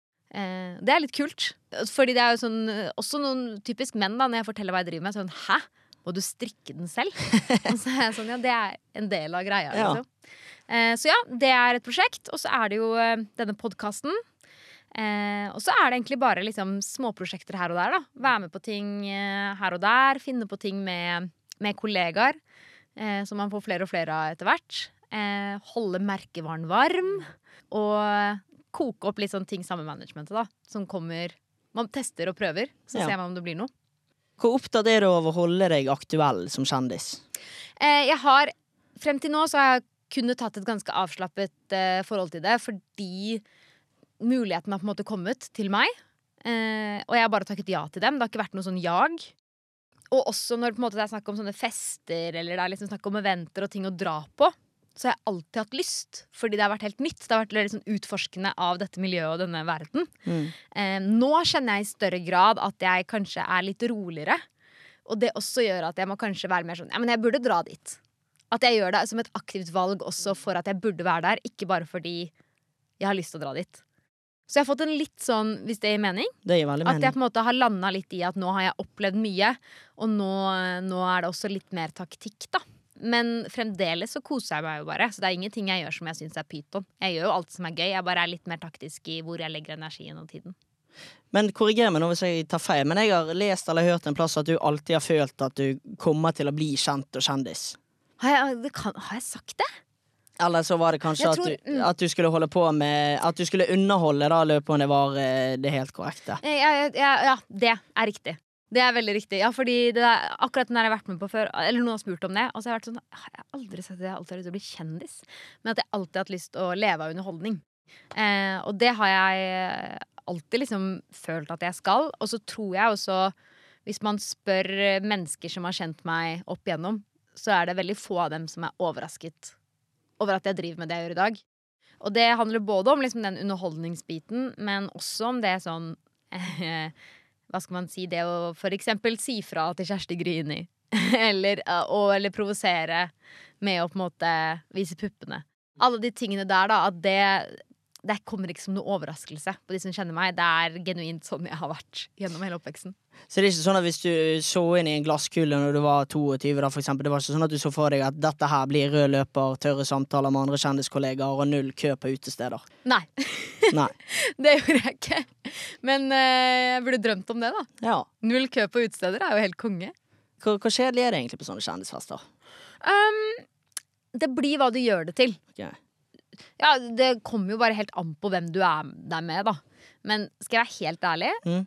Eh, det er litt kult. Fordi det er jo sånn, også noen typisk menn da, når jeg forteller hva jeg driver med, sånn, hæ? Må du strikke den selv? Og så er jeg sånn, ja, det er en del av greia. Ja. Liksom. Eh, så ja, det er et prosjekt. Og så er det jo eh, denne podcasten. Eh, og så er det egentlig bare liksom, småprosjekter her og der. Da. Være med på ting eh, her og der. Finne på ting med, med kollegaer. Eh, som man får flere og flere av etter hvert. Eh, holde merkevaren varm. Og koke opp litt sånne ting sammen med managementet. Da, som kommer, man tester og prøver. Så Ja. ser man om det blir noe. Hvor opptatt er du av å holde deg aktuell som kjendis? Eh, jeg har, frem til nå så har jeg kunnet tatt et ganske avslappet eh, forhold til det, fordi muligheten har på en måte kommet til meg, eh, og jeg har bare takket ja til dem. Det har ikke vært noe sånn jag. Og også når på en måte, det er snakk om sånne fester, eller det er liksom snakk om eventer og ting å dra på, så har jeg alltid hatt lyst, fordi det har vært helt nytt. Det har vært litt sånn utforskende av dette miljøet og denne verden. Mm. Eh, nå kjenner jeg i større grad at jeg kanskje er litt roligere. Og det også gjør at jeg må kanskje være mer sånn, ja, men jeg burde dra dit. At jeg gjør det som et aktivt valg også for at jeg burde være der, ikke bare fordi jeg har lyst til å dra dit. Så jeg har fått en litt sånn, hvis det gir mening, Det gir veldig at jeg mening. på en måte har landet litt i at nå har jeg opplevd mye, og nå, nå er det også litt mer taktikk, da. Men fremdeles så koser jeg meg jo bare. Så det er ingenting jeg gjør som jeg synes er pyton. Jeg gjør jo alt som er gøy, jeg bare er litt mer taktisk i hvor jeg legger energien og tiden. Men korriger meg nå hvis jeg tar feil, men jeg har lest eller hørt en plass at du alltid har følt at du kommer til å bli kjent og kjendis. Har jeg, det kan, har jeg sagt det? Eller så var det kanskje Jeg at, tror- du, mm. at du skulle holde på med At du skulle underholde, da, løpet om det var eh, det helt korrekte. Eh, Ja, ja, ja, ja, det er riktig. Det er veldig riktig. Ja, fordi det er akkurat den har jeg vært med på før. Eller noen har spurt om det. Og så har jeg vært sånn, «Ah, jeg har aldri sagt at jeg alltid har lyst til å bli kjendis. Men at jeg alltid har hatt lyst til å leve av underholdning. Eh, og det har jeg alltid liksom følt at jeg skal. Og så tror jeg også, hvis man spør mennesker som har kjent meg opp igjennom, så er det veldig få av dem som er overrasket over at jeg driver med det jeg gjør i dag. Og det handler både om liksom den underholdningsbiten, men også om det sånn eh, hva skal man si, det å for eksempel si fra til Kjersti Grini. eller, og, eller provosere med å på en måte vise puppene. Alle de tingene der, da, at det, det kommer ikke som noe overraskelse på de som kjenner meg. Det er genuint sånn jeg har vært gjennom hele oppveksten. Så det er ikke sånn at hvis du så inn i en glasskule når du var tjueto da, for eksempel, det var ikke sånn at du så for deg at dette her blir rød løper, tørre samtaler med andre kjendiskollegaer og null kø på utesteder? Nei. Nei. Det gjorde jeg ikke. Men eh, jeg burde drømt om det, da. Ja. Null kø på utesteder er jo helt konge. Hvor, hvor kjedelig er det egentlig på sånne kjendisfester? Um, det blir hva du gjør det til. Okay. Ja, det kommer jo bare helt an på hvem du er der med, da. Men skal jeg være helt ærlig, Mm.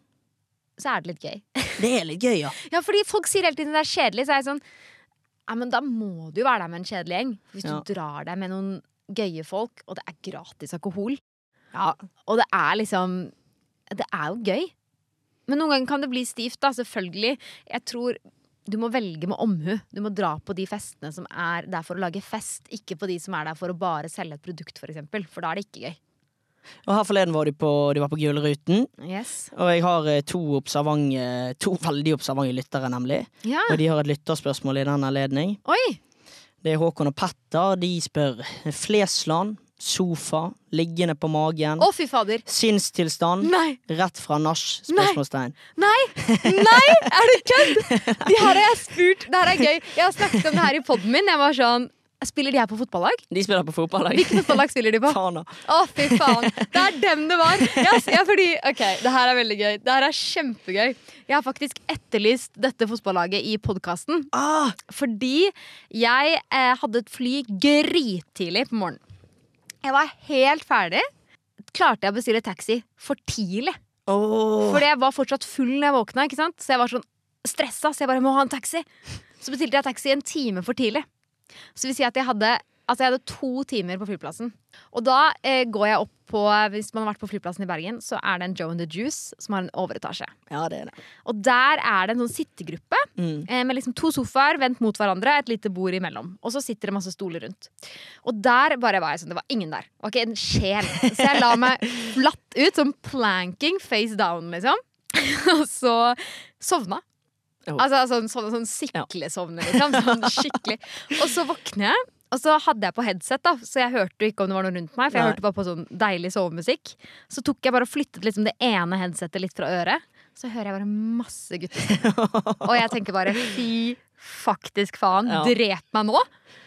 så er det litt gøy. Det er litt gøy, ja. Ja, fordi folk sier hele tiden det er kjedelig, så er jeg sånn ja, men da må du jo være der med en kjedelig gjeng. Hvis Ja. du drar deg med noen gøye folk, og det er gratis alkohol, Ja. og det er liksom det er jo gøy. Men noen ganger kan det bli stivt, da, selvfølgelig. Jeg tror du må velge med omhu. Du må dra på de festene som er der for å lage fest, ikke på de som er der for å bare selge et produkt, for eksempel. For da er det ikke gøy. Og her forleden var de på, de var på Gullruten, Yes. og jeg har eh, to observante, to veldig observante lyttere, nemlig. Ja. Og de har et lytterspørsmål i den anledning. Oi! Det er Håkon og Petter. De spør Flesland, sofa, liggende på magen, Å, fy fader. sinnstilstand, Nei. rett fra nach, spørsmålstegn. Nei! Nei! Er det kødd? De her har jeg spurt. Det her er gøy. Jeg har snakket om det her i podden min. Jeg var sånn Spiller de her på fotballag? De spiller på fotballag. Hvilken fotballag spiller de på? Faen da. Å, fy faen. Det er dem det var. Yes, ja, fordi, ok, det her er veldig gøy. Det her er kjempegøy. Jeg har faktisk etterlyst dette fotballaget i podcasten. Ah, Fordi jeg eh, hadde et fly grittidlig på morgenen. Jeg var helt ferdig. Klarte jeg å bestille taxi for tidlig. åh. Fordi jeg var fortsatt full når jeg våkna, ikke sant? Så jeg var sånn stressa, så jeg bare må ha en taxi. Så bestilte jeg taxi en time for tidlig. Så det vil si at jeg hadde, altså jeg hadde to timer på flyplassen. Og da eh, går jeg opp på, hvis man har vært på flyplassen i Bergen, så er det en Joe and the Juice som har en overetasje. Ja, det er det. Og der er det en sånn sittegruppe Mm. eh, med liksom to sofaer vendt mot hverandre, et lite bord imellom. Og så sitter det masse stoler rundt. Og der bare var jeg sånn, det var ingen der. Ok, en sjel. Så jeg la meg flatt ut, som planking, face down, liksom. Og så sovna. Oh. Altså sånn, sånn, sånn siklesovne, liksom. Sånn skikkelig. Og så våkner jeg, og så hadde jeg på headset, da, så jeg hørte jo ikke om det var noe rundt meg. For jeg Nei. hørte bare på sånn deilig sovemusikk. Så tok jeg bare og flyttet liksom det ene headsetet litt fra øret. Så hører jeg bare masse gutter. Og jeg tenker bare fy faktisk faen, Ja. drep meg nå.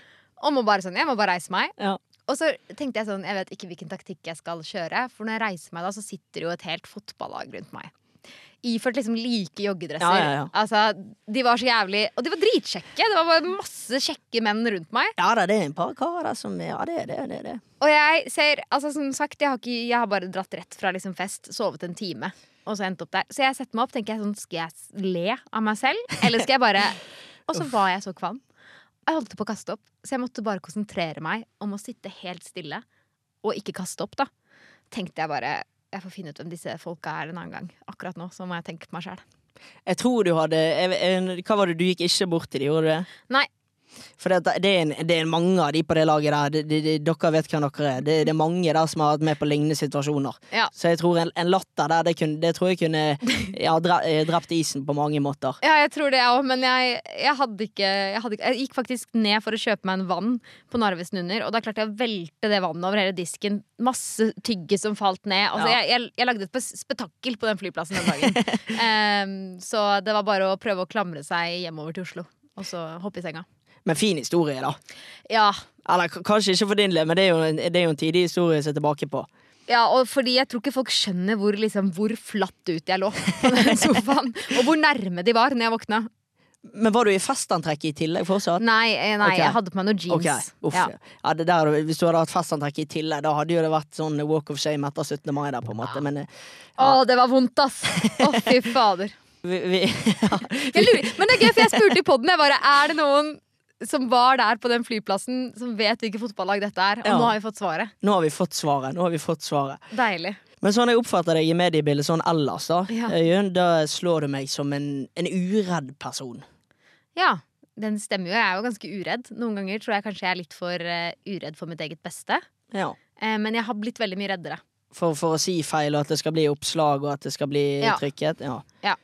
Og må bare sånn, jeg må bare reise meg. Ja. Og så tenkte jeg sånn, jeg vet ikke hvilken taktikk jeg skal kjøre. For når jeg reiser meg da, så sitter jo et helt fotballag rundt meg. Iført liksom like joggedresser. Ja, ja, ja. Altså, de var så jævlig. Og de var dritkjekke. Det var bare masse kjekke menn rundt meg. Ja da, det er en par karer der som Ja, det er det. det, er det. Og jeg ser, altså som sagt, jeg har, ikke, jeg har bare dratt rett fra liksom fest, sovet en time, og så endt opp der. Så jeg setter meg opp, tenker jeg sånn, skal jeg le av meg selv? Eller skal jeg bare Og så var jeg så kvam. Jeg holdt på å kaste opp, så jeg måtte bare konsentrere meg om å sitte helt stille og ikke kaste opp, da. Tenkte jeg bare jeg får finne ut hvem disse folka er en annen gang. Akkurat nå så må jeg tenke på meg selv. Jeg tror du hadde jeg, jeg, Hva var det, du gikk ikke bort til de, gjorde du det? Nei. For det, det, er en, det er mange av de på det laget der. Det, det, det, dere vet hvem dere er. Det, det er mange der som har vært med på lignende situasjoner. Ja. Så jeg tror en, en latter der, det, kunne, det tror jeg kunne ja, dre, drept isen på mange måter. Ja, jeg tror det, jeg òg, men jeg, jeg, hadde ikke, jeg hadde ikke Jeg gikk faktisk ned for å kjøpe meg en vann på Narvesen under, og da klarte jeg å velte det vannet over hele disken. Masse tygge som falt ned. Altså, Ja. jeg, jeg, jeg lagde et pes- spetakkel på den flyplassen den dagen. Em, så det var bare å prøve å klamre seg hjemover til Oslo, og så hoppe i senga. Men fin historie, da. Ja, Eller k- kanskje ikke for din del, men det er jo en, det er jo en tidig historie å se tilbake på. ja, og fordi jeg tror ikke folk skjønner hvor, liksom, hvor flatt ut jeg lå på den sofaen, og hvor nærme de var når jeg våkna. Men var du i festantrekk i tillegg fortsatt? Nei, eh, nei Ok. jeg hadde på meg noen jeans. Ok, uff. Ja. Ja, det der, hvis du hadde hatt festantrekk i tillegg, da hadde jo det vært sånn walk of shame etter syttende mai der, på en måte. Men eh, Å, det var vondt, ass! Å, fy fader. vi, vi ja. Jeg lurer, men det er gøy, for jeg spurte i podden, jeg bare, er det noen som var der på den flyplassen som vet hvilket fotballag dette er? Og Ja. nå har vi fått svaret. Nå har vi fått svaret. Nå har vi fått svaret. Deilig. Men sånn jeg oppfatter deg i mediebildet sånn ellers, da, Ja. Øyunn, da slår du meg som en, en uredd person. Ja, den stemmer jo. Jeg er jo ganske uredd. Noen ganger tror jeg kanskje jeg er litt for uh, uredd for mitt eget beste. Ja. Eh, men jeg har blitt veldig mye reddere. For, for å si feil, og at det skal bli oppslag, og at det skal bli Ja. trykket. Ja. Ja.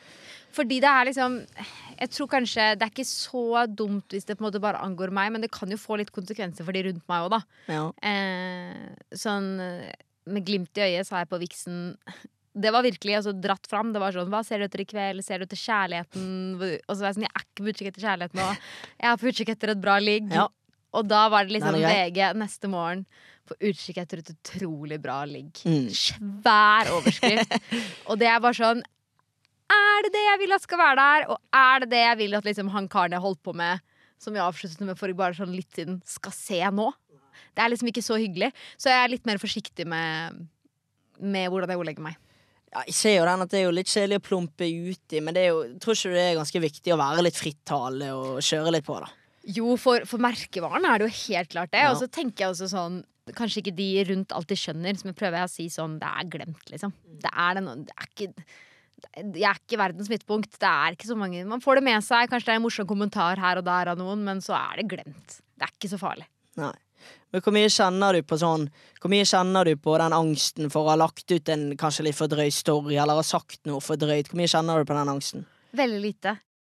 Fordi det er liksom Jeg tror kanskje det er ikke så dumt hvis det på en måte bare angår meg, men det kan jo få litt konsekvenser for de rundt meg òg, da. Ja. Eh, sånn med glimt i øyet, sa jeg på viksen. Det var virkelig altså, dratt fram. Det var sånn, hva ser du etter i kveld? Ser du etter kjærligheten? Og så var jeg sånn, jeg er ikke på utkikk etter kjærligheten nå. Jeg er på utkikk etter et bra ligg. Ja. Og da var det liksom Den er grei. V G neste morgen på utkikk etter et utrolig bra ligg. Mm. Svær overskrift. Og det er bare sånn, er det det jeg vil at skal være der? Og er det det jeg vil at liksom, han karen jeg holdt på med, som jeg avsluttet med for bare sånn litt siden, skal se nå? Det er liksom ikke så hyggelig. Så jeg er litt mer forsiktig med, med hvordan jeg ordlegger meg. Ja, jeg ser jo den at det er jo litt kjedelig å plumpe ut i, men det er jo, tror ikke det er ganske viktig å være litt frittalende og kjøre litt på da. Jo, for, for merkevaren er det jo helt klart det. Ja. Og så tenker jeg også sånn, kanskje ikke de rundt alltid skjønner, som jeg prøver å si sånn, det er glemt liksom. Det er, den, det er ikke... Jeg er ikke verdens midtpunkt. Det er ikke så mange. Man får det med seg. Kanskje det er en morsom kommentar her og der av noen, men så er det glemt. Det er ikke så farlig. Nei. Men hvor mye kjenner du på sånn Hvor mye kjenner du på den angsten for å ha lagt ut en kanskje litt for drøy story, eller ha sagt noe for drøyt? Hvor mye kjenner du på den angsten? Veldig lite.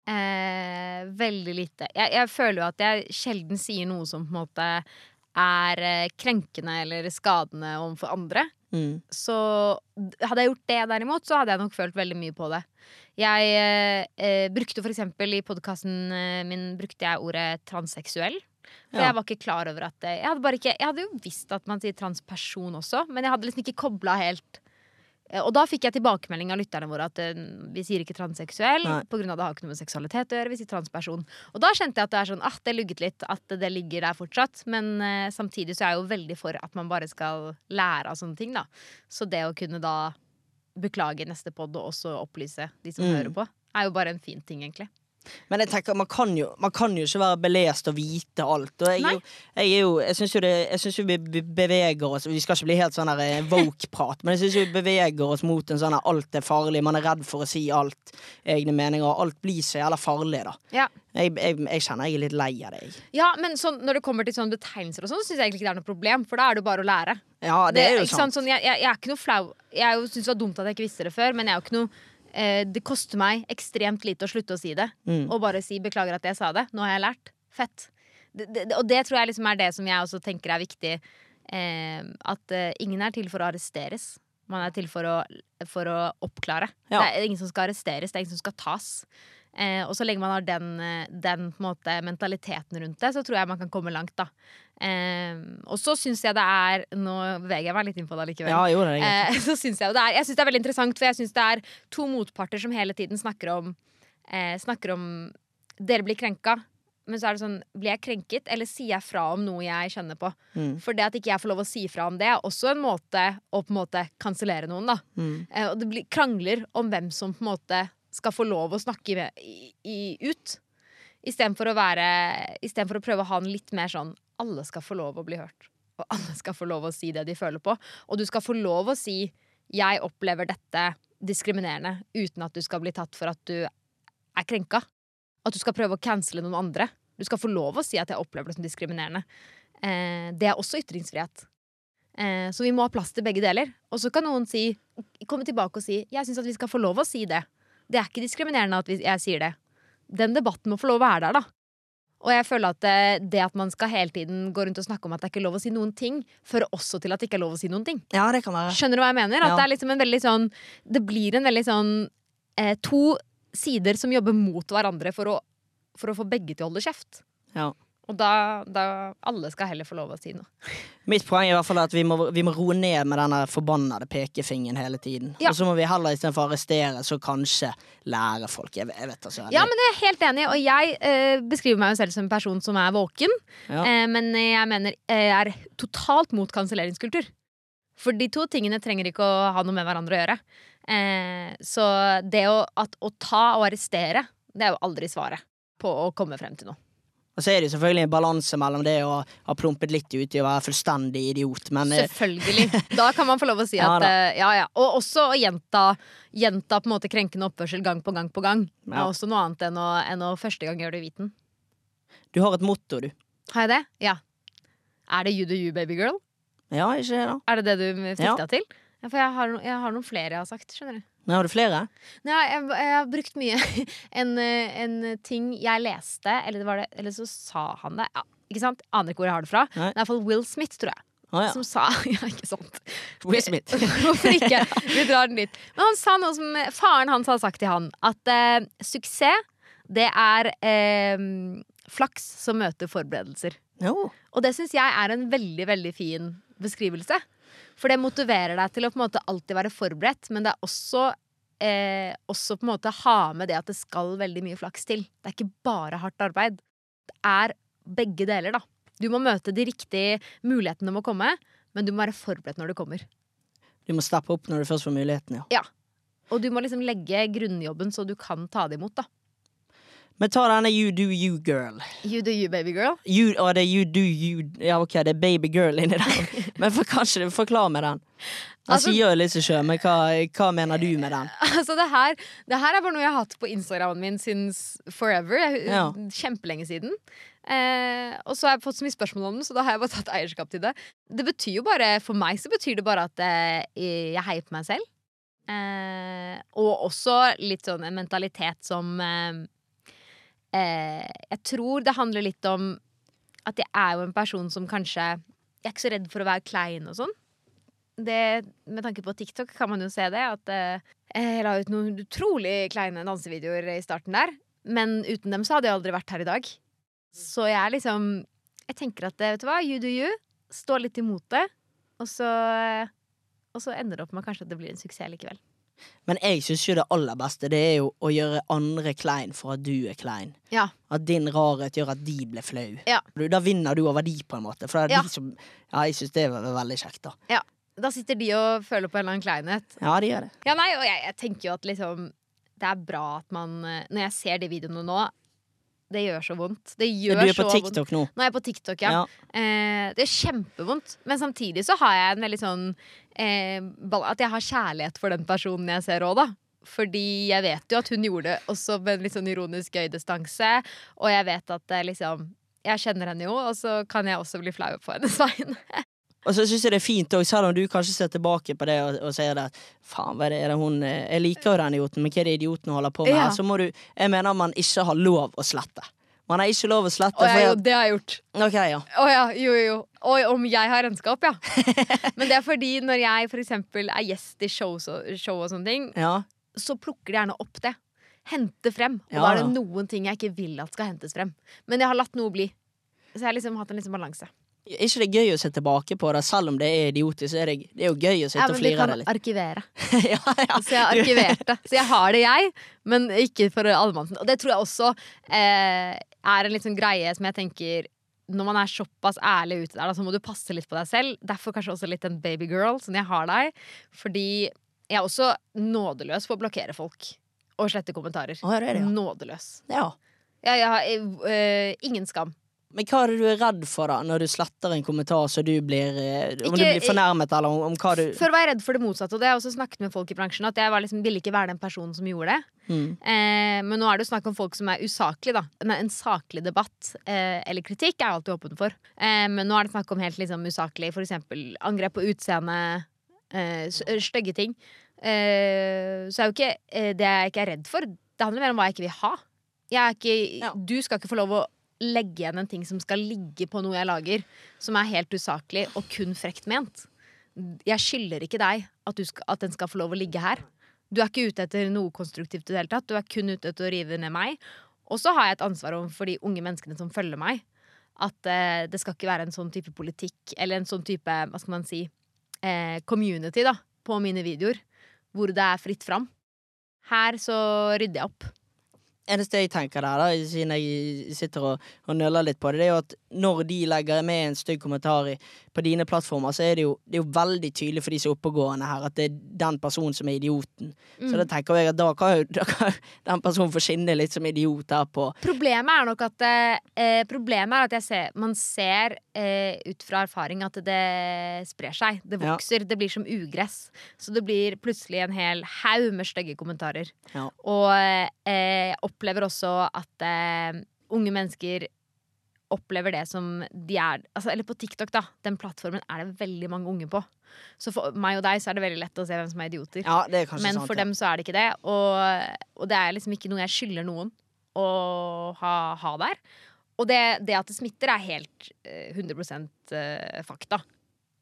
Eh, veldig lite. Jeg, jeg føler jo at jeg sjelden sier noe som på en måte er eh, krenkende eller skadende overfor andre. Mm. Så hadde jeg gjort det derimot, så hadde jeg nok følt veldig mye på det. Jeg eh, brukte for eksempel i podcasten min brukte jeg ordet transseksuell. For Ja. jeg var ikke klar over at det, jeg, hadde bare ikke, jeg hadde jo visst at man sier transperson også, men jeg hadde liksom ikke koblet helt. Eh, Og da fikk jeg tilbakemelding av lytterne våre at eh, vi sier ikke transseksuell, Nei. på grunn av det har ikke noe med seksualitet å gjøre, vi sier transperson. Og da kjente jeg at det er sånn, ah, det lugget litt, at det ligger der fortsatt. Men eh, samtidig så er jeg jo veldig for at man bare skal lære av sånne ting da. Så det å kunne da beklage neste podd og også opplyse de som Mm. hører på, er jo bare en fin ting egentlig. Men jeg tenker, man kan, jo, man kan jo ikke være belest og vite alt. Og jeg, er Nei. jo, jeg, er jo, jeg syns jo, det, jeg synes jo vi be- beveger oss. Vi skal ikke bli helt sånn der eh, woke-prat, men jeg syns vi beveger oss mot en sånn her alt er farlig. Man er redd for å si alt, egne meninger, og alt blir så jævla farlig, da. Ja. Jeg, jeg, jeg kjenner jeg er litt lei av det. jeg. Ja, men sånn, når det kommer til sånne betegnelser og sånn, så synes jeg egentlig ikke det er noe problem, for da er det jo bare å lære. Ja, det, er jo ikke sant. Sånn, jeg, jeg, jeg er ikke noe flau. Jeg synes det var dumt at jeg ikke visste det før, men jeg er jo ikke noe eh, det koster meg ekstremt lite å slutte å si det. Mm. Og bare si beklager at jeg sa det. Nå har jeg lært. Fett. Det, det, og det tror jeg liksom er det som jeg også tenker er viktig. Eh, at eh, ingen er til for å arresteres. Man er til for å, for å oppklare. Ja. Det er ingen som skal arresteres, det er ingen som skal tas. Eh, og så lenge man har den, eh, den på en måte, mentaliteten rundt det, så tror jeg man kan komme langt, da. Eh, og så syns jeg det er Nå beveger jeg meg litt inn på det likevel. Ja, jo, det er greit. Eh, så synes jeg jo det er Jeg synes det er veldig interessant, for jeg synes det er to motparter som hele tiden snakker om eh, Snakker om dere blir krenka, men så er det sånn, blir jeg krenket, eller sier jeg fra om noe jeg kjenner på? Mm. For det at ikke jeg får lov å si fra om det, er også en måte å på en måte kansellere noen, da. Mm. Eh, og det blir krangler om hvem som på en måte skal få lov å snakke med, i, i, ut. Istedenfor å være Istedenfor å prøve å ha en litt mer sånn alle skal få lov å bli hørt. Og alle skal få lov å si det de føler på. Og du skal få lov å si 'jeg opplever dette diskriminerende', uten at du skal bli tatt for at du er krenka. At du skal prøve å cancele noen andre. Du skal få lov å si at 'jeg opplever det som diskriminerende'. Eh, det er også ytringsfrihet. Eh, så vi må ha plass til begge deler. Og så kan noen si, komme tilbake og si 'jeg syns at vi skal få lov å si det'. Det er ikke diskriminerende at vi, jeg sier det. Den debatten må få lov å være der, da. Og jeg føler at det, det at man skal hele tiden gå rundt og snakke om at det er ikke lov å si noen ting, fører også til at det ikke er lov å si noen ting. Ja, det kan være. Skjønner du hva jeg mener? At Ja. det er liksom en veldig sånn Det blir en veldig sånn eh, to sider som jobber mot hverandre for å, for å få begge til å holde kjeft. Ja. Og da, da Alle skal heller få lov å si noe. Mitt poeng er i hvert fall at vi må, vi må roe ned med denne forbannede pekefingeren hele tiden. Ja. Og så må vi heller istedenfor å arrestere, så kanskje lære folk. Jeg, jeg vet altså. Ja, men jeg er helt enig, og jeg eh, beskriver meg jo selv som en person som er våken. Ja. Eh, men jeg mener jeg er totalt mot kanselleringskultur. For de to tingene trenger ikke å ha noe med hverandre å gjøre. Eh, så det å, at, å ta og arrestere, det er jo aldri svaret på å komme frem til noe. Og så er det jo selvfølgelig en balanse mellom det å ha plumpet litt ut i å være fullstendig idiot, men eh, Selvfølgelig. Da kan man få lov å si Ja at da. eh, ja, ja. Og også å gjenta, gjenta på en måte krenkende oppførsel gang på gang på gang. Det Ja. er også noe annet enn å, enn å første gang gjøre det uviten. du har et motto, du. Har jeg det? Ja. Er det you do you, baby girl? Ja, ikke det da? Er det det du sikta Ja. til? Ja, for jeg har, no- jeg har noen flere jeg har sagt, skjønner du. Nei, har du flere? Nei, jeg, jeg har brukt mye en, eh, en ting jeg leste, eller, det var det, eller så sa han det. Ja, ikke sant? Aner ikke hvor jeg har det fra. Nei. Det er i hvert fall Will Smith, tror jeg. Å, ja. som sa Ja, ikke sant. Will Smith. Hvorfor ikke? Vi drar den litt. Men han sa noe som faren hans hadde sagt til han. At eh, suksess, det er eh, flaks som møter forberedelser. Jo. Og det synes jeg er en veldig, veldig fin beskrivelse. For det motiverer deg til å på en måte alltid være forberedt, men det er også, eh, også på en måte ha med det at det skal veldig mye flaks til. Det er ikke bare hardt arbeid. Det er begge deler, da. Du må møte de riktige mulighetene må komme, men du må være forberedt når det kommer. Du må steppe opp når du først får muligheten, ja. Ja. Og du må liksom legge grunnjobben så du kan ta det imot, da. Men ta denne You Do You Girl. You do you, baby girl. You, å, det er You Do You. Ja, ok, det er Baby Girl inni der. Men for, kanskje du forklarer med den. Han Altså- sier jo litt så sjø, men hva, hva mener du med den? Altså det her, det her er bare noe jeg har hatt på Instagramen min since forever. Jeg, Ja. Kjempelenge siden. Eh, og så har jeg fått så mye spørsmål om det, så da har jeg bare tatt eierskap til det. Det betyr jo bare, For meg så betyr det bare at eh, jeg heier på meg selv. Eh, og også litt sånn en mentalitet som eh, eh, Jeg tror det handler litt om at jeg er jo en person som kanskje Jeg er ikke så redd for å være klein og sånn. Det, med tanke på TikTok kan man jo se det. At eh, jeg la ut noen utrolig kleine dansevideoer i starten der. Men uten dem så hadde jeg aldri vært her i dag. Så jeg er liksom Jeg tenker at vet du hva, you do you. Stå litt imot det. Og så, og så ender det opp med kanskje at det blir en suksess likevel. Men jeg synes jo det aller beste, det er jo å gjøre andre klein for at du er klein. Ja. At din rarhet gjør at de blir flau. Ja. Da vinner du over de på en måte. For det er Ja. de som Ja, jeg synes det er veldig kjekt, da. Ja. Da sitter de og føler på en eller annen kleinhet. Ja, de gjør det. Ja, nei, og jeg, jeg tenker jo at liksom det er bra at man eh, Når jeg ser de videoene nå, det gjør så vondt. Det gjør Du er på så vondt. TikTok nå. Nå er jeg på TikTok, ja. Ja. Eh, det er kjempevondt. Men samtidig så har jeg en veldig sånn eh, bal- At jeg har kjærlighet for den personen jeg ser òg, da. Fordi jeg vet jo at hun gjorde det også med en litt sånn ironisk gøy distanse. Og jeg vet at eh, liksom jeg kjenner henne jo, og så kan jeg også bli flau på hennes vegne. Og så synes jeg det er fint også, selv om du kanskje ser tilbake på det og, og sier det at faen, hva er det, er det hun eh, Jeg liker jo den idioten, men hva er det idioten holder på med Ja. her? Så må du Jeg mener man ikke har lov å slette. Man har ikke lov å slette. Og jeg, for jo, at- det har jeg gjort. Ok, ja. Å ja, jo, jo, jo. Og om jeg har regnskap, ja. Men det er fordi når jeg for eksempel er gjest i show, så, show og sånne ting, ja. så plukker de gjerne opp det. Hente frem. Og Ja, da er ja. det noen ting jeg ikke vil at skal hentes frem. Men jeg har latt noe bli. Så jeg har liksom hatt en liksom balanse. Er ikke det gøy å se tilbake på det, selv om det er idiotisk? Så er det, det er jo gøy å sitte Ja, og men vi flire kan det litt. arkivere. ja, ja. Så jeg har arkivert det. Så jeg har det, jeg, men ikke for allmannsen. Og det tror jeg også eh, er en litt sånn greie som jeg tenker når man er såpass ærlig ute der, da, så må du passe litt på deg selv. Derfor kanskje også litt en babygirl, sånn jeg har deg. Fordi jeg er også nådeløs for å blokkere folk. Og slette kommentarer. Å, ja, det er det, ja. Nådeløs. ja. Jeg, jeg har eh, ingen skam. Men hva er det du er redd for da, når du sletter en kommentar så du blir eh, Om Ikke- du blir fornærmet, eller om, om hva du Før var jeg redd for det motsatte, og det har jeg også snakket med folk i bransjen. At jeg var liksom, ville ikke være den personen som gjorde det. mm. Eh, men nå er det jo snakk om folk som er usaklige, da. En, en saklig debatt eh, eller kritikk er jeg alltid åpen for. Eh, men nå er det snakk om helt liksom usaklig, for eksempel angrep på utseende, eh, s- stygge ting. Eh, så er jo ikke eh, det jeg ikke er redd for. Det handler mer om hva jeg ikke vil ha. Jeg er ikke, Ja. Du skal ikke få lov å legge igjen en ting som skal ligge på noe jeg lager, som er helt usaklig og kun frekt ment. Jeg skylder ikke deg at, du skal, at den skal få lov å ligge her. Du er ikke ute etter noe konstruktivt i det hele tatt. Du er kun ute etter å rive ned meg. Og så har jeg et ansvar overfor de unge menneskene som følger meg. At eh, det skal ikke være en sånn type politikk eller en sånn type, hva skal man si, eh, community da, på mine videoer. Hvor det er fritt fram. Her så rydder jeg opp. Eneste jeg tenker der, da, siden jeg sitter og, og nøller litt på det, det er jo at når de legger med en stygg kommentar i, på dine plattformer, så er det, jo, det er jo veldig tydelig for de som er oppegående her, at det er den personen som er idioten. Så da tenker jeg at da kan jo da kan den personen få skinne litt som idiot her på. Problemet er nok at eh, Problemet er at jeg ser, man ser eh, ut fra erfaring at det sprer seg. Det Ja. vokser. Det blir som ugress. Så det blir plutselig en hel haug med stygge kommentarer. Ja. Og eh, jeg opplever også at eh, unge mennesker opplever det som de er altså, eller på TikTok, da. Den plattformen er det veldig mange unge på. Så for meg og deg så er det veldig lett å se hvem som er idioter. Ja, det er kanskje Men sant. for ja. dem så er det ikke det. Og, og det er liksom ikke noe jeg skylder noen å ha, ha der. Og det, det at det smitter, er helt eh, hundre prosent eh, fakta.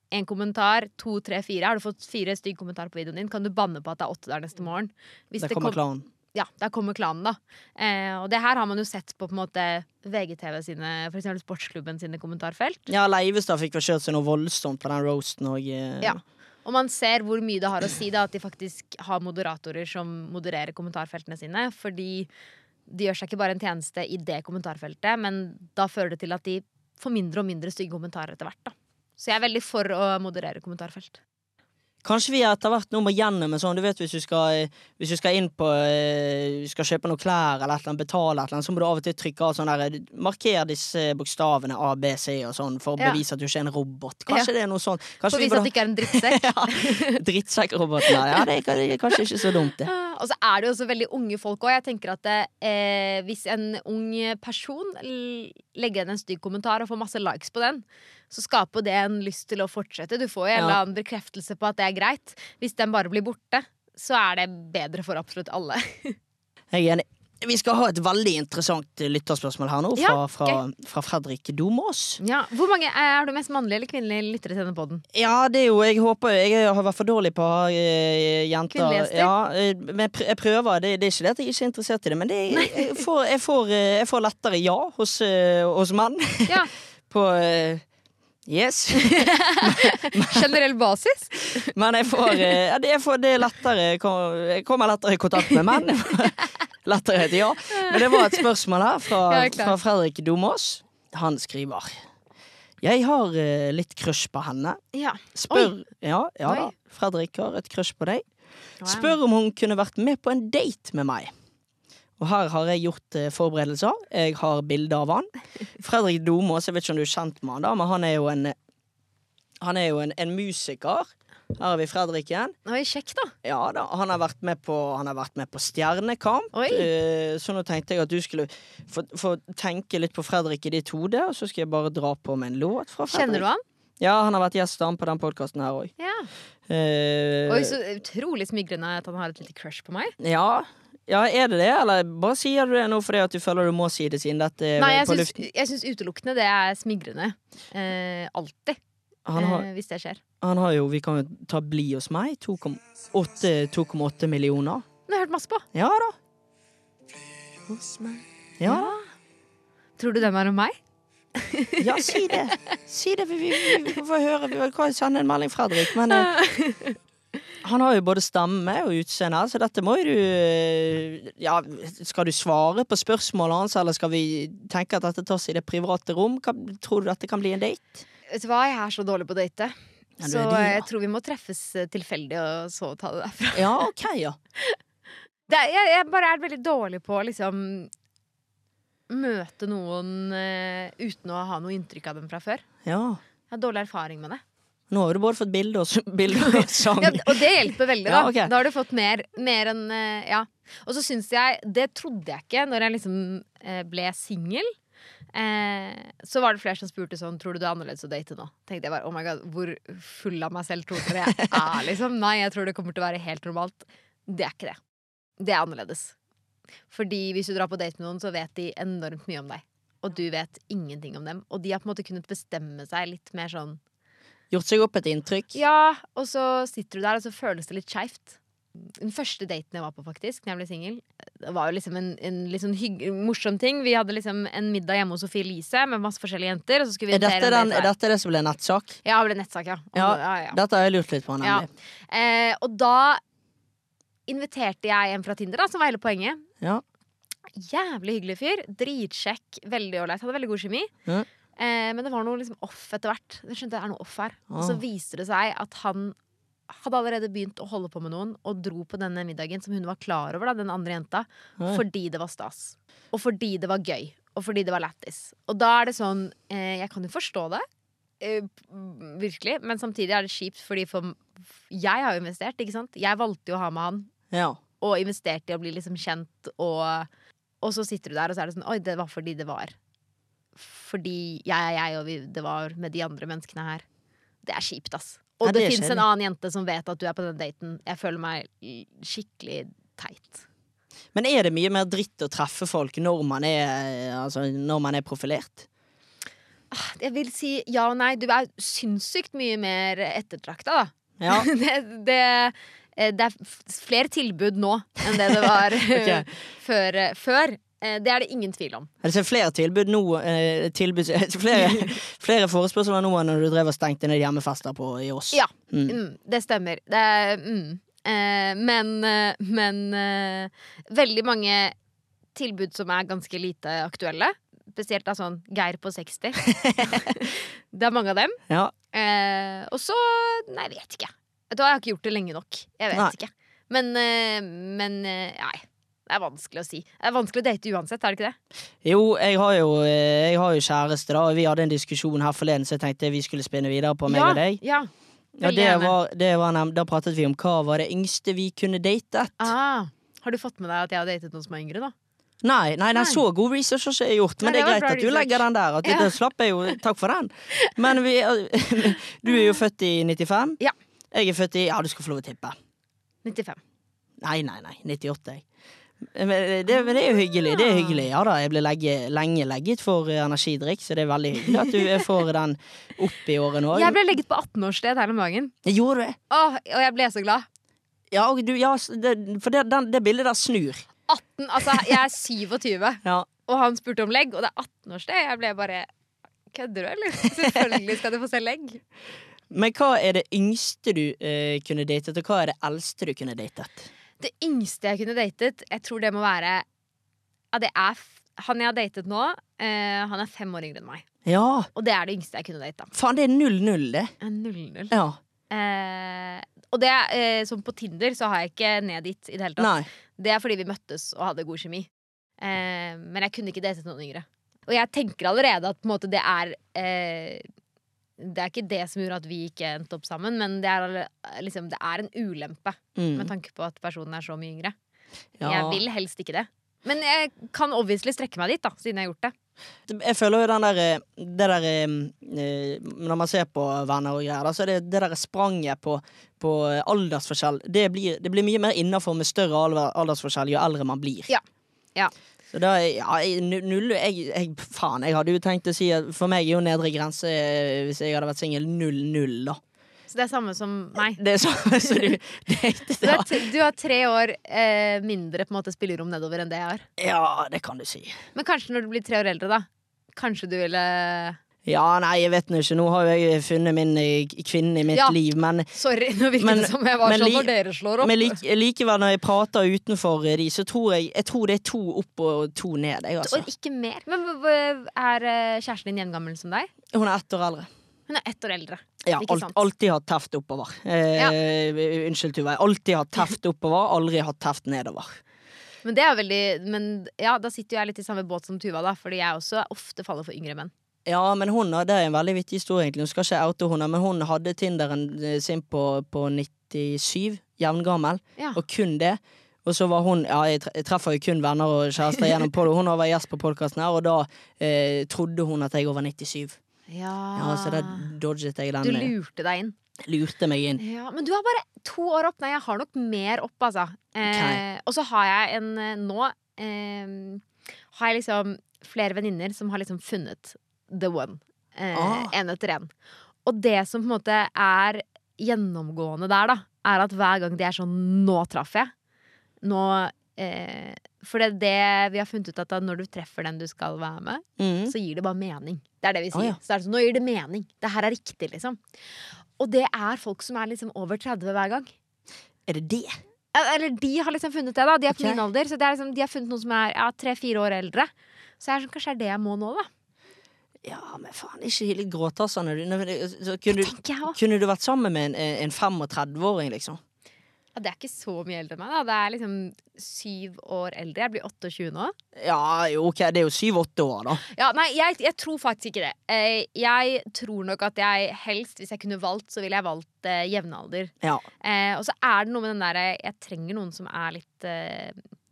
en kommentar, to, tre, fire. Har du fått fire stygg kommentarer på videoen din, kan du banne på at det er åtte der neste morgen. Hvis Det kommer kom- klanen. Ja, der kommer klanen da. Eh, og det her har man jo sett på på en måte V G T V sine, for eksempel Sportsklubben sine kommentarfelt. Ja, Leivestad fikk vel kjørt seg noe voldsomt på den roasten og eh, Ja. Og man ser hvor mye det har å si da, at de faktisk har moderatorer som modererer kommentarfeltene sine, fordi de gjør seg ikke bare en tjeneste i det kommentarfeltet, men da fører det til at de får mindre og mindre stygge kommentarer etter hvert da. Så jeg er veldig for å moderere kommentarfelt. Kanskje vi etter hvert nå må gjennom en sånn, du vet hvis du skal, hvis du skal inn på, eh, du skal kjøpe noen klær eller et eller annet, betale et eller annet, så må du av og til trykke av sånn der, marker disse bokstavene A, B, C og sånn, for å Ja. bevise at du ikke er en robot. Kanskje det er noe sånn. For Kanskje å vi vise at burde du ikke er en drittsekk. ja, drittsekk-roboten der. Ja, det er, det er kanskje ikke så dumt det. Og så er det jo også veldig unge folk også. Jeg tenker at det, eh, hvis en ung person l- legger igjen en stygg kommentar og får masse likes på den, så skaper det en lyst til å fortsette. Du får jo en Ja. eller annen bekreftelse på at det er greit. Hvis den bare blir borte, så er det bedre for absolutt alle. Jeg er enig. Vi skal ha et veldig interessant lytterspørsmål her nå, fra, Ja, fra, fra Fredrik Domås. Ja. Hvor mange er du mest mannlige eller kvinnelige lyttere til denne podden? Ja, det er jo, jeg håper Jeg har vært for dårlig på eh, jenter. Kvinnelige gjester? Ja, eh, men jeg pr- jeg prøver. Det, det er ikke det at jeg ikke er interessert i det, men det, er- jeg, får, jeg, får, eh, jeg får lettere ja hos, eh, hos menn. Ja. på eh, Yes. Generell basis? Men jeg får, eh, ja, det, jeg får det er lettere Jeg kom- Jeg kommer lettere i kontakt med menn. Lettere heter ja. Men det var et spørsmål her fra, Ja, jeg er klar. fra Fredrik Domås. Han skriver: Jeg har eh, litt crush på henne. Ja. Spør Ja, ja da. Oi. Fredrik har et crush på deg. Wow. Spør om hun kunne vært med på en date med meg. Og her har jeg gjort eh, forberedelser. Jeg har bilde av han. Fredrik Domås, jeg vet ikke om du er kjent med han, da, men han er jo en Han er jo en, en musiker. Her har vi Fredrik igjen. Oi, kjekk da. Ja da, han har vært med på, han har vært med på Stjernekamp. Oi. Eh, så nå tenkte jeg at du skulle få, få tenke litt på Fredrik i ditt hode, og så skal jeg bare dra på med en låt fra Fredrik. Kjenner du han? Ja, han har vært gjest på den podkasten her òg. Ja. Eh, Oi, så utrolig smigrende at han har et lite crush på meg. ja. ja, er det det, eller bare sier du det nå fordi at du føler du må si det siden dette er Nei, jeg på syns, luften? jeg syns utelukkende det er smigrende. Eh, alltid. Han har, eh, hvis det skjer. han har jo, vi kan jo ta Bli hos meg, to komma åtte millioner. Det har jeg hørt masse på. Ja da. Ja da. Tror du den er om meg? Ja, si det. Si det, vi, vi, vi får høre. Vi kan sende en melding, Fredrik. Men eh, han har jo både stemme og utseende, så dette må jo du eh, Ja, skal du svare på spørsmålet hans, eller skal vi tenke at dette tas i det private rom? Hva, tror du dette kan bli en date? Vet du hva, jeg er så dårlig på å date. Ja, du Så er det, ja. jeg tror vi må treffes eh, tilfeldig, og så ta det derfra. Ja, ok, ja. Det er, jeg, jeg bare er veldig dårlig på å liksom møte noen eh, uten å ha noe inntrykk av dem fra før. ja. Jeg har dårlig erfaring med det. Nå har du både fått bilde og, s- bilde og sang. Ja, og det hjelper veldig, da. Ja, ok. Da har du fått mer, mer enn eh, Ja. Og så syns jeg Det trodde jeg ikke når jeg liksom eh, ble singel. Eh, så var det flere som spurte sånn: tror du det er annerledes å date nå? Tenkte jeg bare, oh my god, hvor full av meg selv tror dere jeg er, liksom? Nei, jeg tror det kommer til å være helt normalt. Det er ikke det. Det er annerledes. Fordi hvis du drar på date med noen, så vet de enormt mye om deg. Og du vet ingenting om dem. Og de har på en måte kunnet bestemme seg litt mer sånn. Gjort seg opp et inntrykk. Ja, og så sitter du der, og så føles det litt skeivt. Den første daten jeg var på, faktisk, når jeg ble singel, det var jo liksom en, en litt sånn hygg, morsom ting. Vi hadde liksom en middag hjemme hos Sofie Elise med masse forskjellige jenter. Og så skulle vi Er dette, invitere en den, del er dette det som ble nettsak? Ja, det ble nettsak, ja. Ja, ja, ja. Dette har jeg lurt litt på, Ja. nemlig. Eh, og da inviterte jeg en fra Tinder, da, som var hele poenget. Ja. Jævlig hyggelig fyr. Dritsjekk. Veldig ålreit. Hadde veldig god kjemi. Ja. Eh, men det var noe liksom off etter hvert. Jeg skjønte det er noe off her. Og så Ah. viste det seg at han hadde allerede begynt å holde på med noen og dro på denne middagen som hun var klar over, da, den andre jenta, Oi. fordi det var stas. Og fordi det var gøy. Og fordi det var lættis. Og da er det sånn eh, Jeg kan jo forstå det. Eh, virkelig. Men samtidig er det kjipt, fordi for jeg har jo investert, ikke sant? Jeg valgte jo å ha med han. Ja. Og investerte i å bli liksom kjent, og, og så sitter du der, og så er det sånn: oi, det var fordi det var. Fordi jeg er jeg, og vi, det var med de andre menneskene her. Det er kjipt, ass. Og Ja, det, det er finnes en kjedelig. annen jente som vet at du er på den daten. Jeg føler meg l- skikkelig teit. Men er det mye mer dritt å treffe folk når man er, altså, når man er profilert? Jeg vil si ja og nei. Du er sinnssykt mye mer ettertrakta, da. Ja. det, det, det er flere tilbud nå enn det det var Ok. før, før. Det er det ingen tvil om. Er det flere tilbud nå eh, tilbud, flere, flere forespørsler nå enn når du drev og stengte ned hjemmefester på i oss? Ja, Mm. mm, det stemmer. Det er, mm. eh, men eh, men eh, veldig mange tilbud som er ganske lite aktuelle. Spesielt da sånn Geir på seksti. Det er mange av dem. Ja. Eh, og så Nei, jeg vet ikke. Vet du hva, jeg har ikke gjort det lenge nok. Jeg vet Nei. ikke. Men, eh, men eh, nei. Det er vanskelig å si. Det er vanskelig å date uansett, er det ikke det? Jo, jeg har jo, eh, jeg har jo kjæreste, da. Og vi hadde en diskusjon her forleden, så jeg tenkte vi skulle spinne videre på meg ja, og deg. ja. Ja, Veldig det gjerne. var, det var nem- Da pratet vi om hva var det yngste vi kunne datet. Ah, har du fått med deg at jeg har datet noen som er yngre, da? Nei, nei, nei, Nei. så god research har ikke jeg gjort. Men Nei, det det er var greit bra at du research. legger den der. At Ja. Da slapp jeg jo, takk for den. Men vi, du er jo født i nittifem. Ja. Jeg er født i Ja, du skal få lov å tippe. nittifem. Nei, nei, nei. nittiåtte, jeg. Men det, men det er jo hyggelig. Det er hyggelig. Ja da, jeg ble legge, lenge legget for eh, energidrikk, så det er veldig hyggelig at du får den opp i året nå. Jeg ble legget på atten-årssted her om dagen. Jeg gjorde det. Åh, og jeg ble så glad. Ja, og du, ja det, for det, den, det bildet der snur. atten, altså Jeg er sytjue, Ja. og han spurte om legg, og det er atten-årssted. Jeg ble bare Kødder du, eller? Selvfølgelig skal du få se legg. Men hva er det yngste du eh, kunne datet, og hva er det eldste du kunne datet? Det yngste jeg kunne datet, jeg tror det må være ja, det er f Han jeg har datet nå, eh, han er fem år yngre enn meg. Ja, Og det er det yngste jeg kunne data. faen, det er null null, det. null null. Ja. Eh, og det er eh, som på Tinder, så har jeg ikke ned dit i det hele tatt. Nei. Det er fordi vi møttes og hadde god kjemi. Eh, men jeg kunne ikke datet noen yngre. Og jeg tenker allerede at på en måte, det er eh, Det er ikke det som gjorde at vi ikke endte opp sammen, men det er, alle- liksom, det er en ulempe Mm. med tanke på at personen er så mye yngre. Ja. Jeg vil helst ikke det. Men jeg kan obviously strekke meg dit, da, siden jeg har gjort det. Jeg føler jo den der eh, Det der eh, Når man ser på venner og greier, da, så er det det der spranget på, på aldersforskjell. Det blir, det blir mye mer innafor med større alder- aldersforskjell jo eldre man blir. Ja. Ja. Så da, ja, jeg- nu- null jeg, jeg, Faen, jeg hadde jo tenkt å si at for meg er jo nedre grense eh, hvis jeg hadde vært singel, null null, da. Så det er samme som meg. Det er sånn så du datet, Du, ja. er t du har tre år eh, mindre på en måte spillerom nedover enn det jeg har. Ja, det kan du si. Men kanskje når du blir tre år eldre, da. Kanskje du ville Ja, nei, jeg vet nå ikke. Nå har jo jeg funnet min eh, kvinne i mitt Ja. liv, men Sorry, nå virker Men- det som jeg var men sånn li- når dere slår opp. Men like, likevel, når jeg prater utenfor eh, de, så tror jeg Jeg tror det er to opp og to ned. Jeg, altså. Og ikke mer. Men hva- hva- er eh, kjæresten din jevngammel som deg? Hun er ett år eldre. Hun er ett år eldre. Ja, Ikke alt, sant? alltid hatt teft oppover. Eh, Unnskyld, Tuva. Alltid hatt teft oppover, aldri hatt teft nedover. Men det er jo veldig Men ja, da sitter jo jeg litt i samme båt som Tuva, da. Fordi jeg også ofte faller for yngre menn. Ja, men hun, det er en veldig vittig historie, egentlig. Hun skal ikke oute hun, men hun hadde Tinderen eh, sin på, på nittisju, jevngammel, Ja. og kun det. Og så var hun Ja, jeg, tre jeg treffer jo kun venner og kjærester gjennom på det. Hun var gjest på podkasten her, og da eh, trodde hun at jeg var over nittisju. Ja, Ja, så da dodget jeg den. Du eh, lurte deg inn. Lurte meg inn. Ja, Men du har bare to år opp. Nei, jeg har nok mer opp, altså. Eh, og så har jeg en eh, Nå eh, har jeg liksom flere venninner som har liksom funnet the one. Eh, Ah. En etter en. Og det som på en måte er gjennomgående der, da, er at hver gang de er sånn Nå traff jeg. Nå eh, For det er det vi har funnet ut, at da når du treffer den du skal være med, Mm. så gir det bare mening. Det er det vi sier. Å, ja. Så er det sånn, nå gir det mening. Det her er riktig, liksom. Og det er folk som er liksom over tretti hver gang. Er det det? Ja, Eller de har liksom funnet det, da. De er på Ok. min alder. Så det er liksom, de har funnet noen som er ja, tre-fire år eldre. Så jeg er sånn, kanskje er det jeg må nå, da. Ja, men faen, ikke litt gråtassende. Så kunne, du- Tenker jeg også. kunne du vært sammen med en, en femogtredve-åring, liksom? Ja, det er ikke så mye eldre enn meg, da. Det er liksom syv år eldre. Jeg blir tjueåtte nå. Ja, jo, ok, det er jo syv-åtte år, da. Ja, nei, jeg, jeg tror faktisk ikke det. Eh, jeg tror nok at jeg helst, hvis jeg kunne valgt, så ville jeg valgt eh, jevnalder. Ja. Eh, og så er det noe med den derre Jeg trenger noen som er litt eh,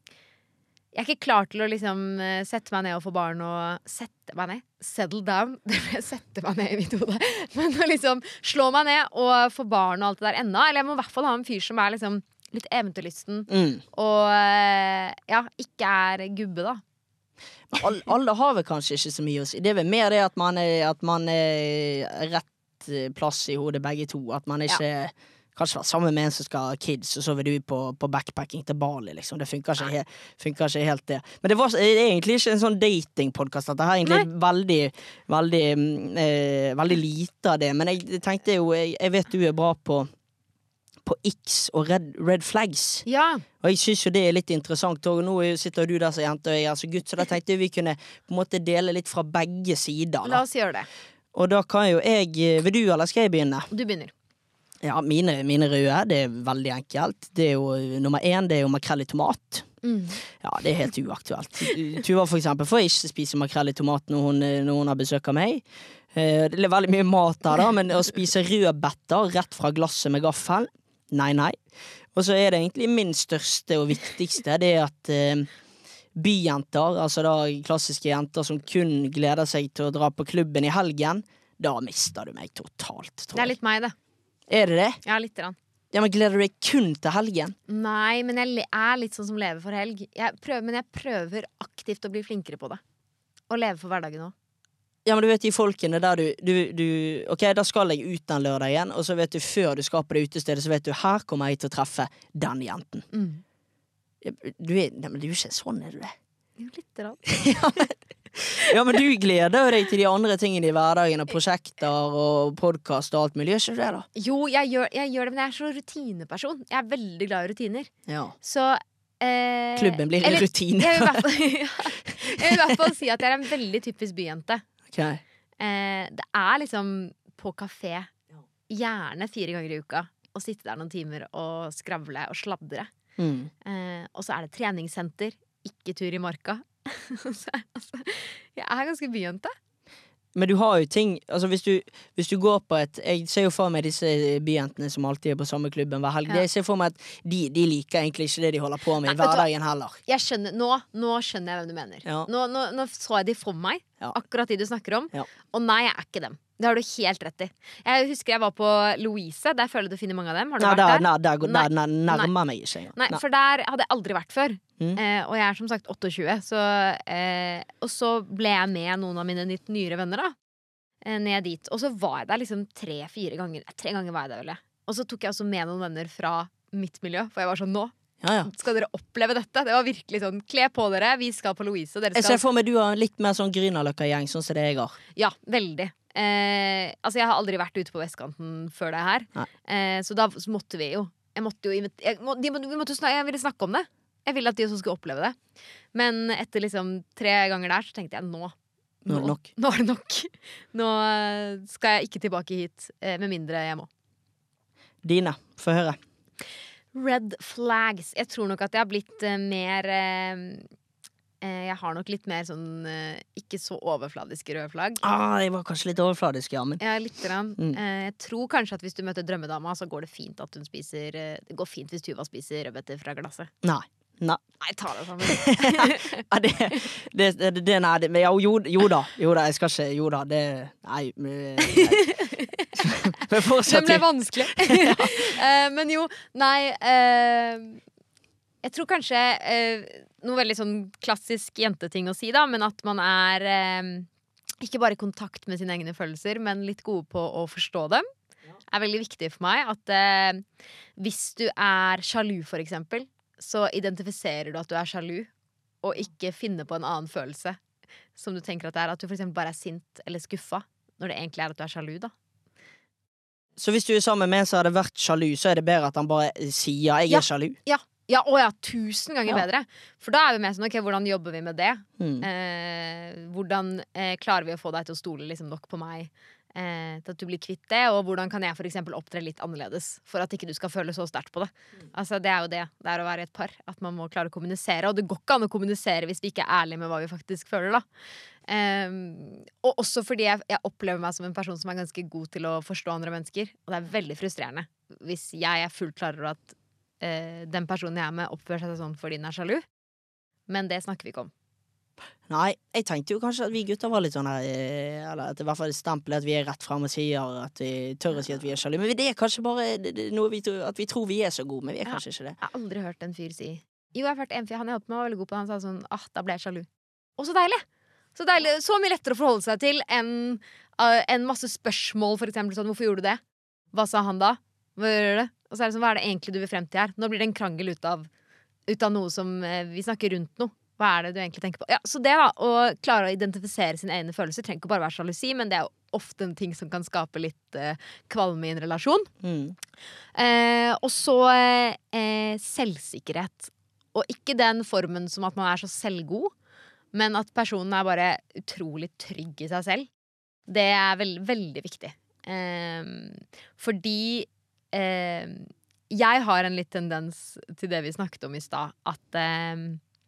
Jeg er ikke klar til å liksom eh, sette meg ned og få barn og Sette meg ned? Settle down. Det ble sette meg ned i mitt hode. Men å liksom slå meg ned og få barn og alt det der ennå. Eller jeg må i hvert fall ha en fyr som er liksom litt eventyrlysten Mm. og eh, ja, ikke er gubbe, da. Men alle, alle har vel kanskje ikke så mye å si. Det er vel mer det at man er, at man er rett plass i hodet begge to. At man ikke ja. Kanskje være sammen med en som skal ha kids, og så vil du på, på backpacking til Bali, liksom. Det funker ikke, he, funker ikke helt det. Men det, var, det er egentlig ikke en sånn datingpodcast. Dette er egentlig Nei. veldig, veldig, eh, veldig lite av det. Men jeg tenkte jo, jeg, jeg vet du er bra på på X og red, red flags. Ja. Og jeg synes jo det er litt interessant. Og nå sitter du der som jente, og jeg er så gutt, så da tenkte jeg vi kunne på en måte dele litt fra begge sider. Da. La oss gjøre det. Og da kan jo jeg, vil du eller skal jeg begynne? Du begynner. Ja, mine, mine røde, det er veldig enkelt. Det er jo, nummer én, det er jo makrell i tomat. Mm. Ja, det er helt uaktuelt. Tuva for eksempel får ikke spise makrell i tomat når hun, når hun har besøk av meg. Det er veldig mye mat der da, men å spise rødbetter rett fra glasset med gaffel, nei, nei. Og så er det egentlig min største og viktigste, det er at eh, byjenter, altså da klassiske jenter som kun gleder seg til å dra på klubben i helgen, da mister du meg totalt, tror jeg. Det er litt meg, det. Er det det? Ja, litt grann. Ja, men gleder du deg kun til helgen? Nei, men jeg er litt sånn som lever for helg. Jeg prøver, men jeg prøver aktivt å bli flinkere på det. Og leve for hverdagen også. Ja, men du vet de folkene der du, du, du Ok, da skal jeg ut den lørdagen, og så vet du før du skal på det utestedet, så vet du, her kommer jeg til å treffe den jenten. Mm. Du er, nei, men du er ikke sånn, er du det? Jo, litt rann. ja, men, ja, men du gleder deg til de andre tingene i hverdagen, og prosjekter og podcast og alt mulig, gjør ikke du det da? Jo, jeg gjør, jeg gjør det, men jeg er så rutineperson. Jeg er veldig glad i rutiner. Ja. Så eh, klubben blir en rutine. Jeg vil i hvert fall, ja, jeg vil i hvert fall si at jeg er en veldig typisk byjente. Okay. Eh, det er liksom på kafé gjerne fire ganger i uka og sitte der noen timer og skravle og sladre. Mm. Eh, og så er det treningssenter, ikke tur i marka. så, altså, jeg er ganske byjente. Men du har jo ting, altså hvis du, hvis du går på et, jeg ser jo for meg disse byjentene som alltid er på samme klubben hver helg, ja. Jeg ser for meg at de, de liker egentlig ikke det de holder på med i hverdagen heller. Jeg skjønner, nå, nå skjønner jeg hvem du mener. Ja. Nå, nå, nå så jeg de for meg, ja. Akkurat de du snakker om, ja. Og nei, jeg er ikke dem. Det har du helt rett i. Jeg husker jeg var på Louise, der føler du finner mange av dem. Har du nei, vært der? Nei, der, der, der, der nærmer meg ikke. Nei, nei, for der hadde jeg aldri vært før. Mm. Eh, og jeg er som sagt tjueåtte, så, eh, og så ble jeg med noen av mine litt nyere venner da. Ned dit, og så var jeg der liksom tre-fire ganger Tre ganger var jeg der, vel jeg. Og så tok jeg også med noen venner fra mitt miljø, for jeg var sånn, nå ja, ja. Skal dere oppleve dette? Det var virkelig sånn, kle på dere, vi skal på Louise og dere skal... Jeg ser for meg du har litt mer sånn Grünerløkka-gjeng, sånn som det jeg har. Ja, veldig eh, Altså jeg har aldri vært ute på vestkanten før det her, eh, så da så måtte vi jo Jeg måtte jo jeg, må, de, vi måtte snakke, jeg ville snakke om det. Jeg ville at de også skulle oppleve det. Men etter liksom tre ganger der så tenkte jeg, nå Nå er det nok. Nå er det nok. Nå skal jeg ikke tilbake hit, med mindre jeg må. Dine, få høre. Red flags. Jeg tror nok at jeg har blitt uh, mer uh, Jeg har nok litt mer sånn uh, ikke så overfladiske røde flagg. Ah, jeg var kanskje litt overfladisk, ja, men ja, litt grann. Mm. Uh, jeg tror kanskje at hvis du møter drømmedama, så går det fint at hun spiser uh, Det går fint hvis Tuva spiser rødbeter fra glasset. Nei. Nei. Nei, ta det sammen. ja, det, det, det, det, nei, det men, ja, jo, jo da, jo da, jeg skal ikke, jo da, det, nei, men, men fortsatt. Det ble vanskelig. uh, men jo, nei, uh, jeg tror kanskje uh, noe veldig sånn klassisk jenteting å si da, men at man er uh, ikke bare i kontakt med sine egne følelser, men litt gode på å forstå dem. Er veldig viktig for meg at uh, hvis du er sjalu for eksempel, så identifiserer du at du er sjalu, og ikke finner på en annen følelse som du tenker at det er. At du for eksempel bare er sint eller skuffa, når det egentlig er at du er sjalu, da. Så hvis du er sammen med en som hadde vært sjalu, så er det bedre at han bare sier 'jeg ja, er sjalu'? Ja, ja, å ja, tusen ganger ja. bedre. For da er vi med sånn, ok, hvordan jobber vi med det? Mm. Eh, hvordan eh, klarer vi å få deg til å stole liksom nok på meg? Eh, til at du blir kvitt det, og hvordan kan jeg for eksempel opptre litt annerledes for at ikke du skal føle så sterkt på det. Mm. Altså det er jo det, det er å være et par, at man må klare å kommunisere, og det går ikke an å kommunisere hvis vi ikke er ærlige med hva vi faktisk føler da. Eh, og også fordi jeg, jeg opplever meg som en person som er ganske god til å forstå andre mennesker, og det er veldig frustrerende hvis jeg er fullt klar over at eh, den personen jeg er med oppfører seg sånn fordi den er sjalu, men det snakker vi ikke om. Nei, jeg tenkte jo kanskje at vi gutter var litt sånn her, eller at det i hvert fall stempelet at vi er rett frem og sier at vi tør å si at vi er sjalu, men det er kanskje bare noe vi tror, at vi tror vi er så gode, men vi er kanskje ikke det. Jeg har aldri hørt en fyr si. Jo, jeg har hørt en fyr, han jeg holdt med var veldig god på, han sa sånn, ah, da ble jeg sjalu. Og så deilig. Så deilig, så mye lettere å forholde seg til enn uh, en masse spørsmål, for eksempel sånn, hvorfor gjorde du det? Hva sa han da? Hva gjør det? Og så er det sånn, hva er det egentlig du vil frem til her? Nå blir det en krangel ut av, ut av noe som uh, vi snakker rundt noe. Hva er det du egentlig tenker på? Ja, så det da, å klare å identifisere sine egne følelser trenger ikke bare være sjalusi, men det er jo ofte en ting som kan skape litt uh, kvalme i en relasjon. Mm. Eh, og så eh, selvsikkerhet. Og ikke den formen som at man er så selvgod, men at personen er bare utrolig trygg i seg selv. Det er veld, veldig viktig. Eh, fordi eh, jeg har en litt tendens til det vi snakket om i stad, at eh,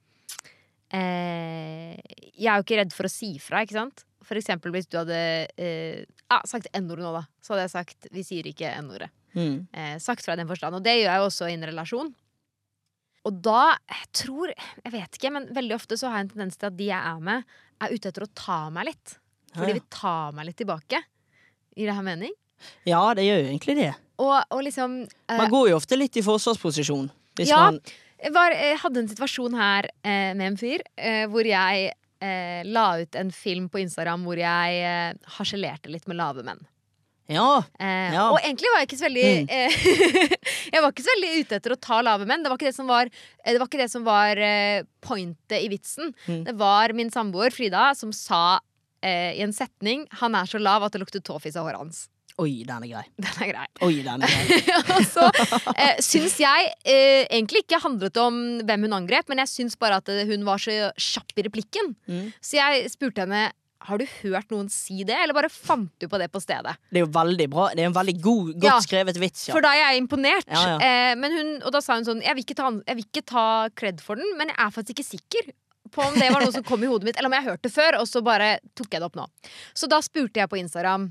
eh, jeg er jo ikke redd for å si fra, ikke sant? For eksempel hvis du hadde eh, ah, sagt n-ordet nå da, så hadde jeg sagt, vi sier ikke n-ordet. Mm. Eh, sagt fra i den forstand, og det gjør jeg jo også i en relasjon. Og da, jeg tror, jeg vet ikke, men veldig ofte så har jeg en tendens til at de jeg er med er ute etter å ta meg litt. For de Ja. vil ta meg litt tilbake. Gir det her mening? Ja, det gjør jo egentlig det. Og, og liksom eh, Man går jo ofte litt i forsvarsposisjon. Hvis Ja. man Jeg, var, jeg hadde en situasjon her eh, med en fyr eh, hvor jeg eh, la ut en film på Instagram hvor jeg eh, harselerte litt med lave menn. Ja. Eh, Ja. Og egentlig var jeg ikke så veldig Mm. eh, Jeg var ikke så veldig ute etter å ta lave menn. Det var ikke det som var, eh, det var, ikke det som var eh, pointet i vitsen. Mm. Det var min samboer Frida som sa eh, i en setning 'Han er så lav at det lukter tåfis av håret hans'. Oi, den er grei. Den er grei. Oi, den er grei. Og så eh, syns jeg eh, egentlig ikke handlet om hvem hun angrep, men jeg syns bare at eh, hun var så kjapp i replikken. Mm. Så jeg spurte henne har du hørt noen si det, eller bare fant du på det på stedet. Det er jo veldig bra. Det er en veldig god, godt Ja. skrevet vits. Ja. For da er jeg imponert. Ja, ja. Eh, men hun, og da sa hun sånn jeg vil, ikke ta, jeg vil ikke ta cred for den, men jeg er faktisk ikke sikker på om det var noe som kom i hodet mitt, eller om jeg hørte det før, og så bare tok jeg det opp nå. Så da spurte jeg på Instagram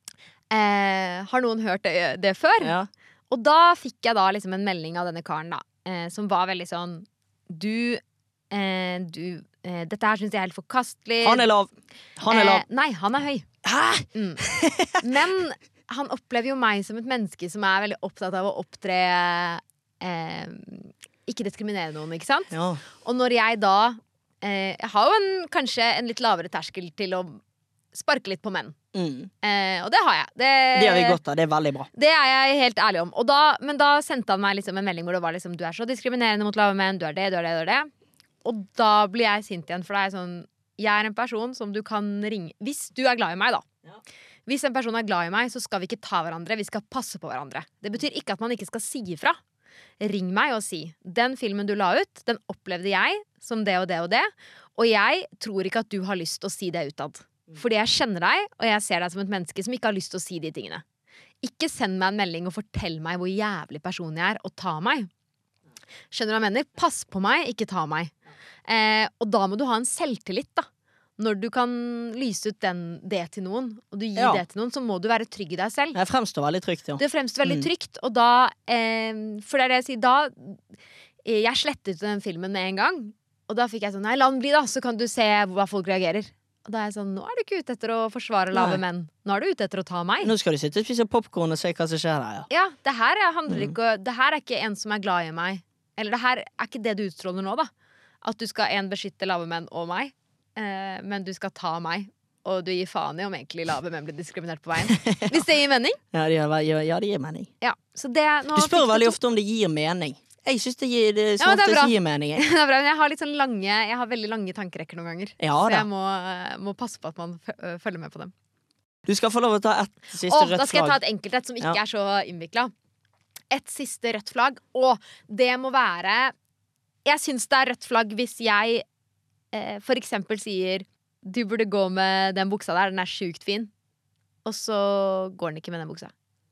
eh, har noen hørt det, det før? Ja. Og da fikk jeg da liksom en melding av denne karen da, eh, som var veldig sånn Du, eh, du eh, dette her syns jeg er helt forkastelig. Han er lav. Han er lav. Eh, nei, han er høy. Hæ?! Mm. Men han opplever jo meg som et menneske som er veldig opptatt av å opptre eh, ikke diskriminere noen, ikke sant? Ja. Og når jeg da eh, Jeg har jo en, kanskje en litt lavere terskel til å sparke litt på menn. Mm. Eh, og det har jeg. Det, Det har vi godt av. Det er veldig bra. det er jeg helt ærlig om. Og da, men da sendte han meg liksom en melding hvor det var liksom du er så diskriminerende mot lave menn, du er det, du er det, du er det. Og da blir jeg sint igjen, for da er jeg sånn jeg er en person som du kan ringe hvis du er glad i meg, da. Ja. Hvis en person er glad i meg, så skal vi ikke ta hverandre. Vi skal passe på hverandre. Det betyr ikke at man ikke skal si ifra. Ring meg og si den filmen du la ut, den opplevde jeg som det og det og det. Og jeg tror ikke at du har lyst til å si det utad. Fordi jeg kjenner deg, og jeg ser deg som et menneske som ikke har lyst til å si de tingene. Ikke send meg en melding og fortell meg hvor jævlig person jeg er, og ta meg. Skjønner du hva jeg mener? Pass på meg, ikke ta meg. Eh, og da må du ha en selvtillit, da. Når du kan lyse ut den, det til noen, og du gir Ja. det til noen, så må du være trygg i deg selv. Det fremstår veldig trygt, ja. Det fremstår veldig Mm. trygt, og da eh, For det er det jeg sier, da eh, Jeg slettet den filmen med en gang. Og da fikk jeg sånn, nei, la den bli da, så kan du se hva folk reagerer. Og da er jeg sånn, nå er du ikke ute etter å forsvare lave Nei. menn. Nå er du ute etter å ta meg. Nå skal du sitte og spise popkorn og se hva som skjer der, ja. Ja, det her er, handler Mm. ikke Det her er ikke en som er glad i meg. Eller det her er ikke det du utstråler nå, da. At du skal en beskytte lave menn og meg, eh, men du skal ta meg. Og du gir faen i om egentlig lave menn blir diskriminert på veien. Hvis det gir mening. Ja, det gir, ja, det gir mening. Ja, så det, nå Du spør fikk veldig to- ofte om det gir mening. Jeg syns det, gir, det Ja, som men det er oftest bra. gir mening. jeg. Det er bra, men jeg har litt sånn lange Jeg har veldig lange tankerekker noen ganger. Ja så da. jeg må, må passe på at man fø- øh, følger med på dem. Du skal få lov å ta ett siste Åh, rødt da skal jeg ta flagg. et enkeltrett som ikke Ja. er så innvikla. Et siste rødt flagg. Og det må være Jeg syns det er rødt flagg hvis jeg eh, for eksempel sier du burde gå med den buksa der, den er sjukt fin. Og så går den ikke med den buksa.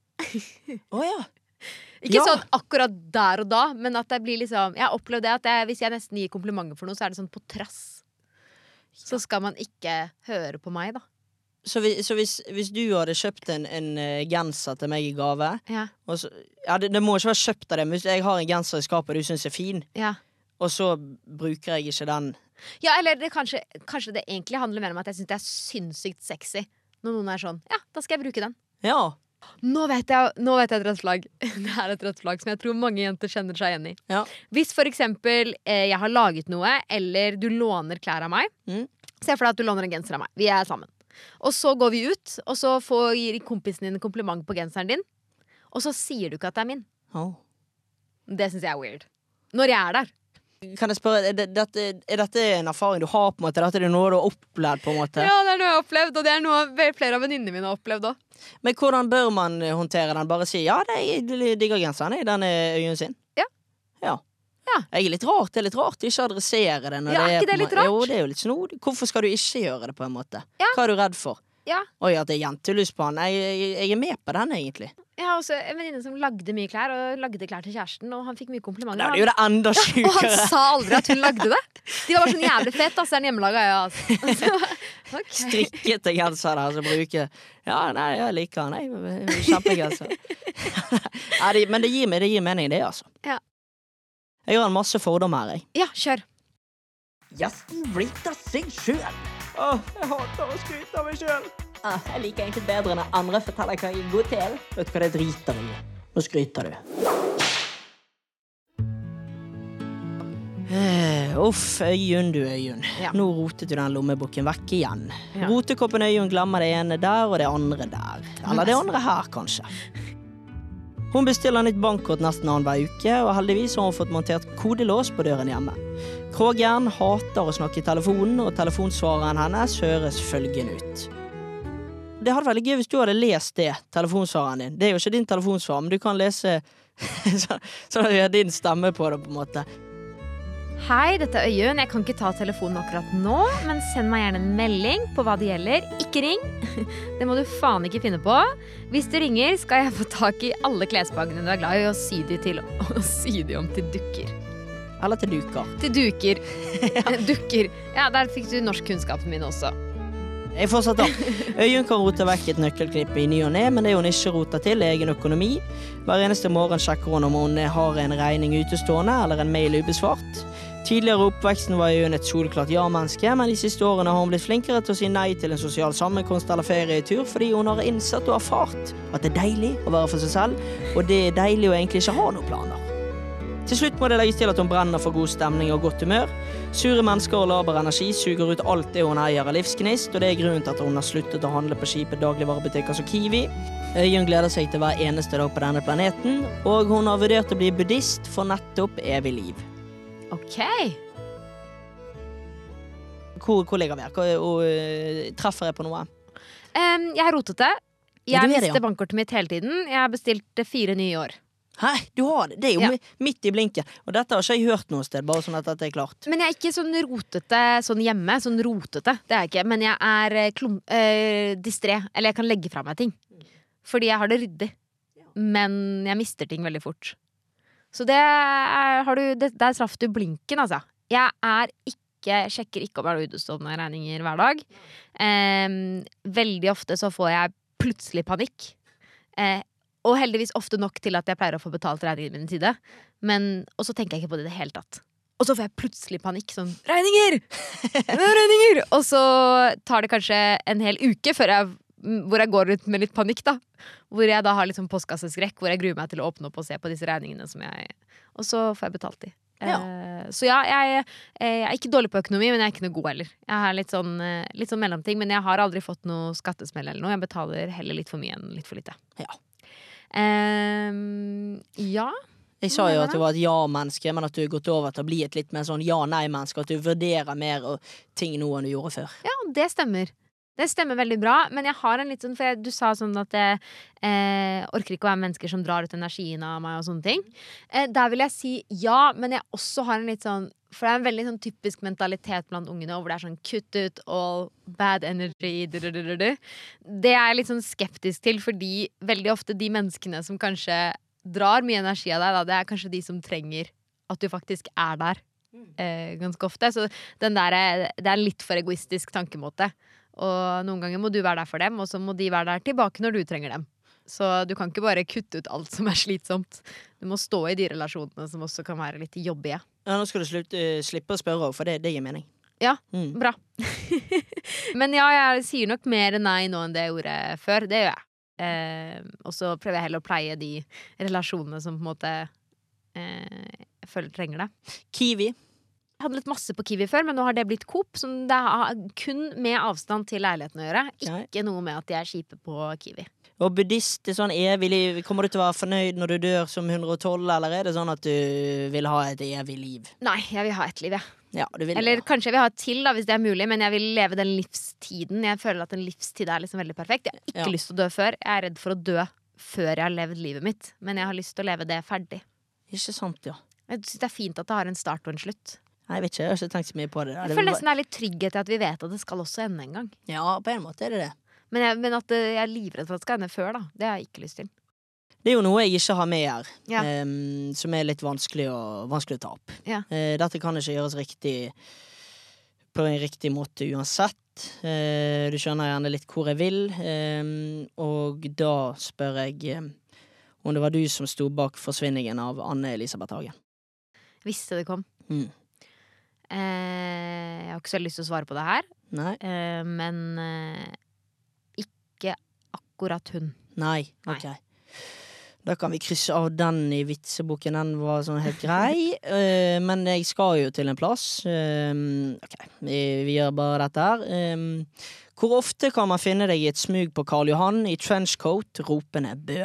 Å ja. Ikke Ja. sånn akkurat der og da, men at det blir liksom Jeg har opplevd det at jeg, hvis jeg nesten gir komplimenter for noe, så er det sånn på trass. Så skal man ikke høre på meg, da. Så, vi, så hvis, hvis du hadde kjøpt en, en eh, genser til meg i gave Ja, og så, ja, det, det må ikke være kjøpt av det, men hvis jeg har en genser i skapet du syns er fin, ja. og så bruker jeg ikke den Ja, eller det, kanskje, kanskje det egentlig handler mer om at jeg syns det er sinnssykt sexy når noen er sånn Ja, da skal jeg bruke den. Ja. Nå vet jeg, nå vet jeg et rødt flagg. Det er et rødt flagg som jeg tror mange jenter kjenner seg igjen i. Ja. Hvis for eksempel eh, jeg har laget noe, eller du låner klær av meg. Mm. Se for deg at du låner en genser av meg. Vi er sammen. Og så går vi ut, og så får, gir kompisen din en kompliment på genseren din. Og så sier du ikke at det er min. Oh. Det synes jeg er weird. Når jeg er der. Kan jeg spørre, er, det, dette, er dette en erfaring du har på en måte? Dette er noe du har opplevd på en måte? Ja, det er noe jeg har opplevd, og det er noe flere av venninnene mine har opplevd også. Men hvordan bør man håndtere den? Bare si, ja, det er digger genseren i denne øyen sin. Ja. Ja. Ja. Jeg er litt rart, det er litt rart ikke adressere det. Når Ja, er ikke på det en litt må- rart? Jo, det er jo litt snodig. Hvorfor skal du ikke gjøre det på en måte? Ja. Hva er du redd for? Ja. Oi, at det er jentelys på han. Jeg, jeg, jeg er med på den egentlig. Jeg har også en venninne som lagde mye klær, og lagde klær til kjæresten, og han fikk mye komplimenter. Da er det jo det enda Og han sjukere. sa aldri at hun lagde det. De var bare sånn jævlig fett, ass, det er en hjemmelaga, ja, altså. Ok. Strikkete genser der som bruker Ja, nei, jeg liker han. Jeg, kjempegenser. Ja, det, men det gir, meg, det gir mening, det, altså. Ja. Jeg har en masse fordommer her, jeg. Ja, kjør. Gjesten blitt av seg sjøl. Åh, jeg hater å skryte av meg sjøl. Ah, jeg liker egentlig bedre enn andre forteller hva jeg er god til. Vet du hva det driter i? Nå skryter du. Eh, uff, Øyunn du Øyunn. Ja. Nå rotet du den lommeboken vekk igjen. Ja. Rotekoppen Øyunn glemmer det ene der og det andre der. Eller det andre her, kanskje. Hun bestiller nytt bankkort nesten annenhver uke, og heldigvis har hun fått montert kodelås på døren hjemme. Krogjern hater å snakke i telefonen, og telefonsvareren hennes høres følgende ut. Det hadde vært veldig gøy hvis du hadde lest det, telefonsvareren din. Det er jo ikke din telefonsvar, men du kan lese så, så det er din stemme på det, på en måte. Hei, dette er Øyunn. Jeg kan ikke ta telefonen akkurat nå, men send meg gjerne en melding på hva det gjelder. Ikke ring. Det må du faen ikke finne på. Hvis du ringer, skal jeg få tak i alle klesplagene du er glad i, og sy de, til, og sy de om til dukker. Eller til duker. Til duker. Dukker. Ja, der fikk du norskkunnskapen min også. Jeg fortsetter. Øyunn kan rote vekk et nøkkelklipp i ny og ne, men det hun ikke roter til er egen økonomi. Hver eneste morgen sjekker hun om hun har en regning utestående eller en mail ubesvart. Tidligere i oppveksten var Øyunn et solklart ja-menneske, men de siste årene har hun blitt flinkere til å si nei til en sosial sammenkomst eller ferietur, fordi hun har innsett og erfart at det er deilig å være for seg selv, og det er deilig å egentlig ikke ha noen planer. Til slutt må det legges til at hun brenner for god stemning og godt humør. Sure mennesker og laber energi suger ut alt det hun eier av livsgnist, og det er grunnen til at hun har sluttet å handle på kjipe dagligvarebutikker som Kiwi. Øyunn gleder seg til hver eneste dag på denne planeten, og hun har vurdert å bli buddhist for nettopp evig liv. Ok. Hvor, hvor ligger vi her? Hvor, og, uh, treffer jeg på noe? Um, jeg har rotet det. Ja, Jeg du er det, mister ja. bankkortet mitt hele tiden. Jeg har bestilt fire nye i år. Hæ, du har det? Det er jo Ja. mi- midt i blinken. Og dette har ikke jeg hørt noe sted, bare sånn at dette er klart. Men jeg er ikke sånn rotete sånn hjemme. Sånn rotete, det er jeg ikke. Men jeg er eh, klum, eh, distré. Eller jeg kan legge fra meg ting. Fordi jeg har det ryddig. Men jeg mister ting veldig fort. Så det er, har du, det, der traff du blinken, altså. Jeg er ikke jeg sjekker ikke om jeg har utestående regninger hver dag. Eh, veldig ofte så får jeg plutselig panikk. Eh, og heldigvis ofte nok til at jeg pleier å få betalt regningene mine i tide. Men, og så tenker jeg ikke på det i det hele tatt. Og så får jeg plutselig panikk. Sånn, regninger! regninger! Og så tar det kanskje en hel uke før jeg, hvor jeg går ut med litt panikk, da. Hvor jeg da har litt sånn postkasseskrekk, hvor jeg gruer meg til å åpne opp og se på disse regningene som jeg. Og så får jeg betalt de. Ja. Eh, så ja, jeg, jeg er ikke dårlig på økonomi, men jeg er ikke noe god heller. Jeg har litt sånn, eh, litt sånn mellomting, men jeg har aldri fått noe skattesmell eller noe. Jeg betaler heller litt for mye enn litt for lite. Ja. Um, ja. Jeg sa jo at du var et ja-menneske, men at du har gått over til å bli et litt mer sånn ja-nei-menneske. At du vurderer mer og ting nå enn du gjorde før. Ja, det stemmer. Det stemmer veldig bra, men jeg har en litt sånn, for jeg, du sa sånn at jeg eh, orker ikke å være mennesker som drar ut energien av meg og sånne ting. Eh, der vil jeg si ja, men jeg også har en litt sånn, for det er en veldig sånn typisk mentalitet blant ungene, hvor det er sånn kutt ut all bad energy, du, du, du, du, du. Det er jeg litt sånn skeptisk til, fordi veldig ofte de menneskene som kanskje drar mye energi av deg, da, det er kanskje de som trenger at du faktisk er der eh, ganske ofte. Så den der, det er en litt for egoistisk tankemåte. Og noen ganger må du være der for dem, og så må de være der tilbake når du trenger dem. Så du kan ikke bare kutte ut alt som er slitsomt. Du må stå i de relasjonene som også kan være litt jobbige. Ja, nå skal du slutte, uh, slippe å spørre, for det, det gir mening. Ja, Mm. bra. Men ja, jeg sier nok mer nei nå enn det jeg gjorde før. Det gjør jeg. eh, og så prøver jeg heller å pleie de relasjonene som på en måte eh, jeg føler trenger det. Kiwi. Jeg hadde litt masse på Kiwi før, men nå har det blitt Coop, som det har kun med avstand til leiligheten å gjøre. Ikke Nei. Noe med at de er kjipe på Kiwi. Og buddhist, det er sånn evig liv. Kommer du til å være fornøyd når du dør som hundre og tolv, eller er det sånn at du vil ha et evig liv? Nei, jeg vil ha et liv, jeg. Ja, du vil, Eller ja. kanskje jeg vil ha et til, da, hvis det er mulig, men jeg vil leve den livstiden. Jeg føler at en livstid er liksom veldig perfekt. Jeg har ikke ja. lyst til å dø før. Jeg er redd for å dø før jeg har levd livet mitt, men jeg har lyst til å leve det ferdig. Ikke sant, ja. Jeg synes det er fint at det har en start og en slutt. Nei, jeg vet ikke, jeg har ikke tenkt så mye på det. Jeg føler nesten det er litt trygghet til at vi vet at det skal også ende en gang. Ja, på en måte er det det. Men, jeg, men at jeg er livredd for at det skal ende før, da. Det har jeg ikke lyst til. Det er jo noe jeg ikke har med her, ja. um, som er litt vanskelig å, vanskelig å ta opp. Ja. Uh, dette kan ikke gjøres riktig på en riktig måte uansett. Uh, du skjønner gjerne litt hvor jeg vil, um, og da spør jeg um, om det var du som sto bak forsvinningen av Anne Elisabeth Hagen. Visste det kom. Mm. Uh, jeg har ikke så lyst til å svare på det her, uh, men uh, ikke akkurat hun. Nei, ok. Nei. Da kan vi krysse av den i vitseboken. Den var sånn helt grei. uh, men jeg skal jo til en plass. Uh, ok, vi, vi gjør bare dette her. Um, hvor ofte kan man finne deg i et smug på Karl Johan i trenchcoat, ropende Bø?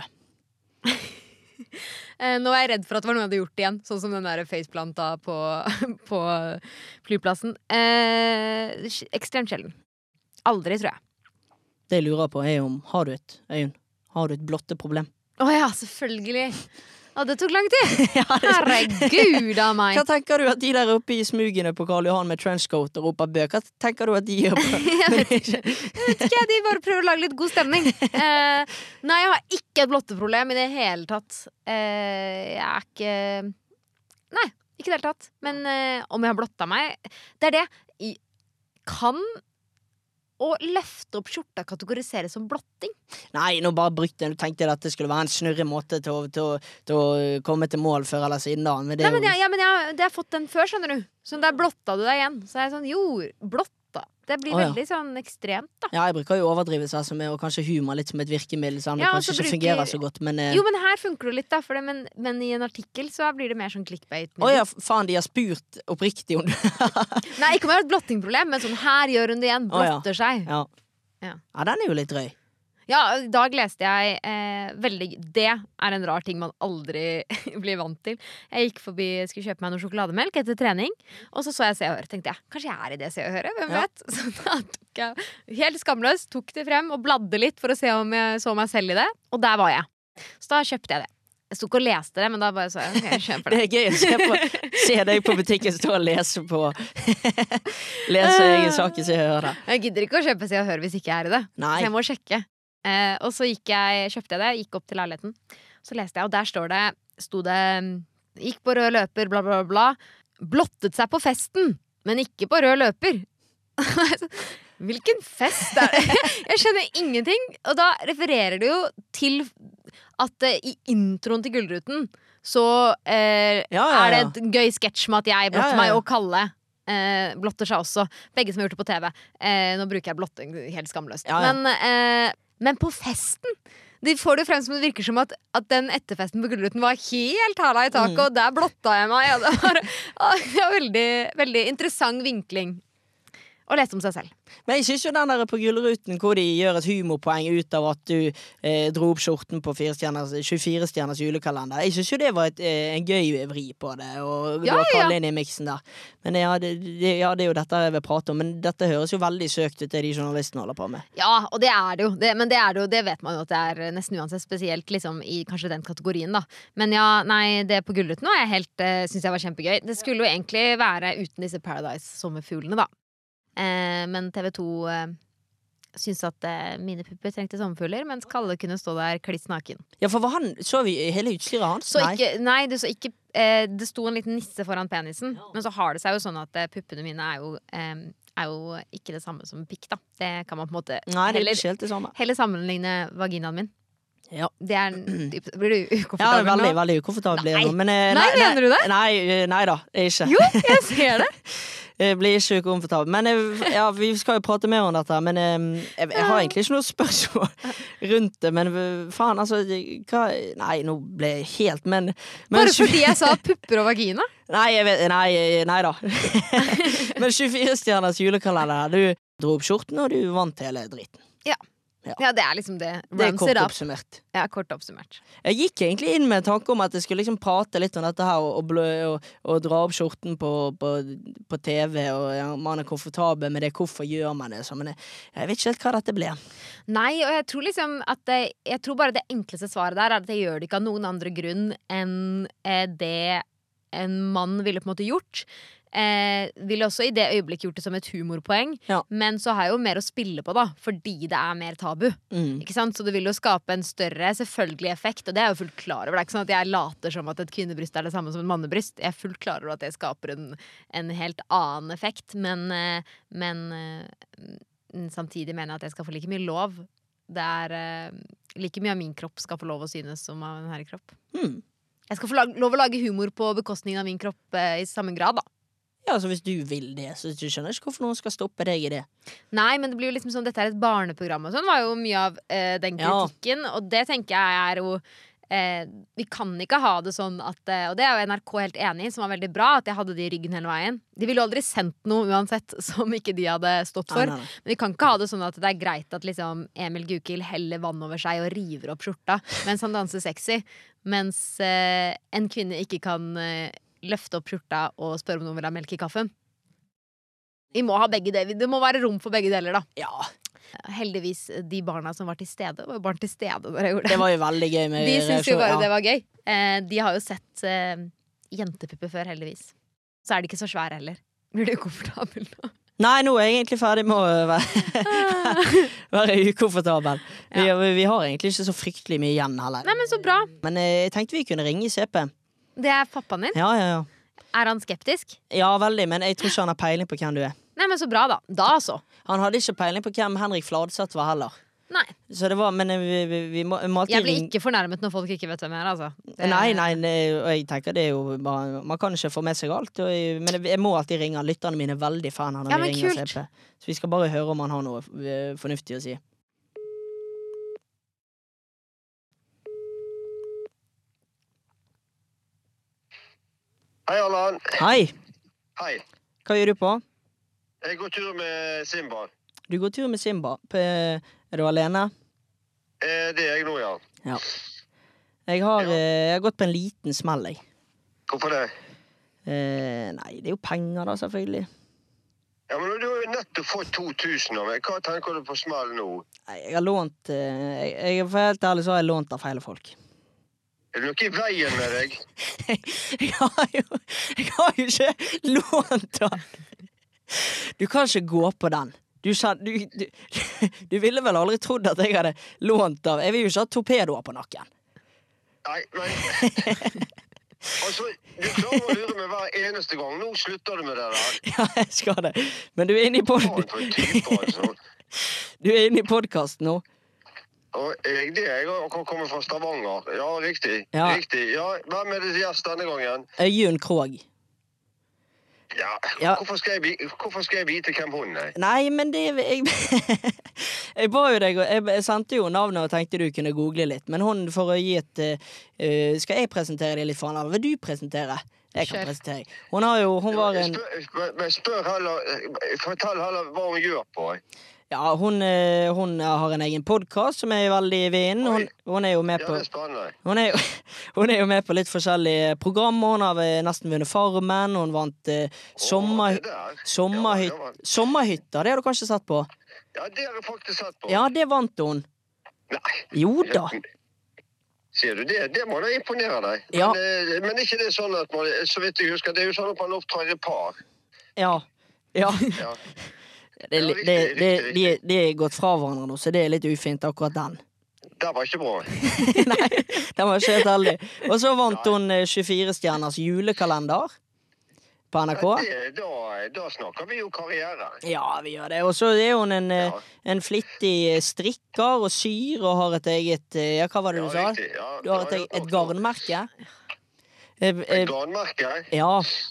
uh, nå er jeg redd for at det var noe jeg hadde gjort igjen, sånn som den der faceplanta på, på flyplassen. Uh, ekstremt sjelden. Aldri, tror jeg. Det jeg lurer på er om, har du et, Øyunn, har du et blotte problem? Å oh ja, selvfølgelig. Å, det tok lang tid. Ja, det... Herregud av meg. Hva tenker du at de der oppe i smugene på Karl Johan med trenchcoat og roper Bø? Hva tenker du at de gjør på? Jeg vet ikke. Jeg vet ikke, de bare prøver å lage litt god stemning. Eh, nei, jeg har ikke et blotteproblem i det hele tatt. Eh, jeg er ikke... Nei, ikke i det hele tatt. Men eh, om jeg har blotta meg, det er det. I... Kan... å løfte opp skjorta kategoriseres som blotting? Nei, nå bare brukte jeg. Du tenkte at det skulle være en snurre måte til å, til, å, til å komme til mål før eller siden da. Men det, Nei, men jo... jeg, ja, men jeg, det har fått den før, skjønner du. Så der blotta du deg igjen. Så er jeg sånn, jo, blotta. Det blir oh, ja. veldig sånn ekstremt, da. Ja, jeg bruker jo overdrivelse altså, med, og kanskje humor litt som et virkemiddel, sånn, ja, det kanskje ikke bruker... fungerer så godt, men eh... Jo, men her funker det litt, da, for det, men, men i en artikkel så blir det mer sånn clickbait. Å oh, ja, faen, de har spurt oppriktig om du Nei, ikke om jeg har et blottingproblem, men sånn, her gjør hun det igjen, blotter oh, ja. seg. Ja. Ja. ja, den er jo litt drøy. Ja, i dag leste jeg eh, veldig Det er en rar ting man aldri blir vant til. Jeg gikk forbi, skulle kjøpe meg noe sjokolademelk etter trening, og så så jeg Se og Hør. Tenkte jeg, kanskje jeg er i det Se og Høre? Hvem ja. vet? Så da tok jeg, helt skamløs, tok det frem og bladde litt for å se om jeg så meg selv i det. Og der var jeg. Så da kjøpte jeg det. Jeg sto ikke og leste det, men da bare så jeg, okay, jeg kjøper det. Det er gøy å se, på, se deg på butikken stå og lese på Lese egen sak i Se og Hør. Jeg gidder ikke å kjøpe Se og Hør hvis ikke jeg er i det. Nei. Så jeg må sjekke. Eh, og så gikk jeg, kjøpte jeg det, gikk opp til leiligheten. Så leste jeg, og der står det, sto det gikk på rød løper, bla bla bla. Blottet seg på festen, men ikke på rød løper. Hvilken fest er det? Jeg skjønner ingenting. Og da refererer det jo til at eh, i introen til Gullruten så eh, ja, ja, ja. er det et gøy sketsj med at jeg blotter ja, ja, ja. meg og Kalle eh, blotter seg også. Begge som har gjort det på T V. Eh, nå bruker jeg blotting helt skamløst. Ja, ja. Men, eh, men på festen de får det frem som det virker som at, at den etterfesten på Gullruten var helt hæla i taket, mm. og der blotta jeg meg. Ja, det var, det var veldig, veldig interessant vinkling. Og lese om seg selv. Men jeg synes jo den der på Gullruten hvor de gjør et humorpoeng ut av at du eh, dro opp skjorten på tjuefire stjerners julekalender. Jeg synes jo det var et, eh, en gøy vri på det, og ja, du har ja. kallet inn i miksen der. Men ja det, det, ja, det er jo dette jeg vil prate om, men dette høres jo veldig søkt ut det de journalistene holder på med. Ja, og det er det jo. Det, men det er det jo, det vet man jo at det er nesten uansett spesielt liksom, i kanskje den kategorien, da. Men ja, nei, det på Gullruten var jeg helt, uh, synes jeg var kjempegøy. Det skulle jo egentlig være uten disse Paradise-sommerfuglene, da. Eh, men T V to eh, syns at eh, mine pupper trengte sommerfugler, mens Kalle kunne stå der kliss naken. Ja, for var han, så vi hele utstyret hans? Så ikke, nei, det, så ikke, eh, det sto en liten nisse foran penisen, ja. Men så har det seg jo sånn at eh, puppene mine er jo, eh, er jo ikke det samme som pikk, da. Det kan man på en måte nei, det er heller, ikke helt det samme. heller sammenligne vaginaen min. Ja. Det er, blir du ukomfortabel ja, veldig, nå? veldig ukomfortabel. Nei, men, eh, nei, nei, mener du det? Nei, nei da, ikke. Jo, jeg ser det. Jeg blir ikke ukomfortabel. Men jeg, ja, vi skal jo prate mer om dette, men jeg, jeg, jeg har egentlig ikke noe spørsmål rundt det. Men faen, altså hva, nei, nå ble jeg helt Men, men Bare fordi jeg sa pupper og vagina? Nei, jeg vet, nei, nei da. Men tjuefire stjerners julekalender. Du dro opp skjorten, og du vant hele driten. Ja. Ja. Ja, det er liksom det. Det er Ramps kort it up. oppsummert. Ja, kort oppsummert. Jeg gikk egentlig inn med tanke om at jeg skulle liksom prate litt om dette her, og, og, blø, og, og dra opp skjorten på, på, på T V, og ja, man er komfortabel med det. Hvorfor gjør man det? Så, men jeg, jeg vet ikke helt hva dette ble. Nei, og jeg tror liksom at det, Jeg tror bare det enkleste svaret der er at jeg gjør det ikke av noen andre grunn enn eh, det en mann ville på en måte gjort. Eh, ville også i det øyeblikket gjort det som et humorpoeng, Ja. men så har jeg jo mer å spille på, da, fordi det er mer tabu. Mm. Ikke sant? Så det vil jo skape en større selvfølgelig effekt, og det er jeg jo fullt klar over. Det er ikke sånn at jeg later som at et kvinnebryst er det samme som et mannebryst. Jeg er fullt klar over at det skaper en, en helt annen effekt, men, eh, men eh, samtidig mener jeg at jeg skal få like mye lov. Det er eh, like mye av min kropp skal få lov å synes som av en herrekropp. Hmm. Jeg skal få lag- lov å lage humor på bekostning av min kropp eh, i samme grad, da. Ja, altså hvis du vil det, så du skjønner ikke hvorfor noen skal stoppe deg i det. Nei, men det blir jo liksom sånn, dette er et barneprogram og sånn, var jo mye av eh, den Ja. kritikken, og det tenker jeg er jo eh, vi kan ikke ha det sånn at, eh, og det er jo N R K helt enig i, som var veldig bra, at jeg hadde de i ryggen hele veien. De ville jo aldri sendt noe uansett som ikke de hadde stått for. Nei, nei, nei. Men vi kan ikke ha det sånn at det er greit at liksom Emil Gukild heller vann over seg og river opp skjorta mens han danser sexy, mens eh, en kvinne ikke kan eh, løfte opp skjorta og spørre om noen vil ha melk i kaffen. Vi må ha begge deler. Det må være rom for begge deler, da. Ja, Heldigvis, de barna som var til stede, var jo barn til stede når jeg gjorde det. det var jo veldig gøy med De syns jo reaksjon, bare ja. det var gøy. Eh, de har jo sett eh, jentepupper før, heldigvis. Så er de ikke så svære heller. Blir du komfortabel nå? Nei, nå er jeg egentlig ferdig med å være, være ukomfortabel. Vi, vi har egentlig ikke så fryktelig mye igjen heller. Nei, men så bra. Men eh, jeg tenkte vi kunne ringe C P. Det er pappaen din. Ja, ja, ja. Er han skeptisk? Ja, veldig, men jeg tror ikke han har peiling på hvem du er. Nei, men så bra, da. Da så. Han hadde ikke peiling på hvem Henrik Fladseth var heller. Nei. Så det var, men vi, vi, vi må, må alltid Jeg blir ringe. ikke fornærmet når folk ikke vet hvem jeg er, altså. Det- Nei, nei, nei, og jeg tenker det er jo bare, man kan ikke få med seg alt, og jeg, men jeg må alltid ringe. Lytterne mine er veldig fan av når Ja, vi men ringer kult. C P. Så vi skal bare høre om han har noe eh, fornuftig å si. Hei, Allan. Hei, Hei. hva gjør du på? Jeg går tur med Simba. Du går tur med Simba. P er du alene? Eh, det er jeg nå, ja. Ja. Jeg har, Ja. eh, jeg har gått på en liten smell, jeg. Hvorfor det? Eh, nei, det er jo penger da, selvfølgelig. Ja, men Du har jo nettopp fått to tusen av meg. Hva tenker du på smell nå? Nei, jeg har lånt eh, jeg, jeg, For helt ærlig så har jeg lånt av feile folk. Er det noe i veien med deg? Jeg har jo, jeg har jo ikke lånt den. Du kan ikke gå på den. Du, kjen- du, du, du ville vel aldri trodd at jeg hadde lånt av. Jeg vil jo ikke ha torpedoer på nakken. Nei, men Altså, Du klarer å lure meg hver eneste gang. Nå slutter du med det der. Ja, jeg skal det. Men du er inne i pod Faen for en type, altså. Du er inne i podkasten nå. Og jeg, det er jeg har kommet fra Stavanger. Ja, riktig. Ja. Riktig. Ja, Hvem er det gjest denne gangen? Øyunn Krogh. Ja, Ja. Hvorfor, skal jeg, vi- hvorfor skal jeg vite hvem hun er? Nei, men det Jeg, jeg ba jo deg og jeg, jeg sendte jo navnet og tenkte du kunne google litt. Men hun, for å gi et uh, Skal jeg presentere deg litt for henne? Vil du presentere? Jeg kan Kjør. presentere. Hun har jo Hun var en Spør, spør, men spør heller, fortell heller hva hun gjør på. Ja, hun, eh, hun har en egen podkast som er veldig i vinden. Hun, hun er jo med Ja, på det er spennende. Hun er, jo, hun er jo med på litt forskjellige program. Hun har eh, nesten vunnet Farmen. Hun vant eh, sommer, Å, det der. sommerhyt, Ja, ja, Sommerhytta. Det har du kanskje sett på? ja, det har jeg faktisk sett på. Ja, det vant hun. Nei. Jo da. Sier du det? Det må da imponere deg. Ja. Men, eh, men ikke det sånn at man, så vidt jeg husker, det er jo sånn at man opptrer i par. Ja. Ja. Ja. Det, er Ja, li- riktig, det, riktig, det, riktig. de, de er gått fra hverandre nå, så det er litt ufint, akkurat den. Det var ikke bra. Nei, den var ikke helt heldig. Og så vant hun eh, tjuefire stjerners julekalender på N R K. Ja, det, da, da snakker vi jo karriere. Ja, vi gjør det. Og så er hun en, eh, Ja. en flittig strikker og syr og har et eget eh, Ja, hva var det du Ja, sa? riktig, ja. Du har et, Ja, eget- ja, et ja. garnmerke? Eh, eh, Et garnmerke? ja.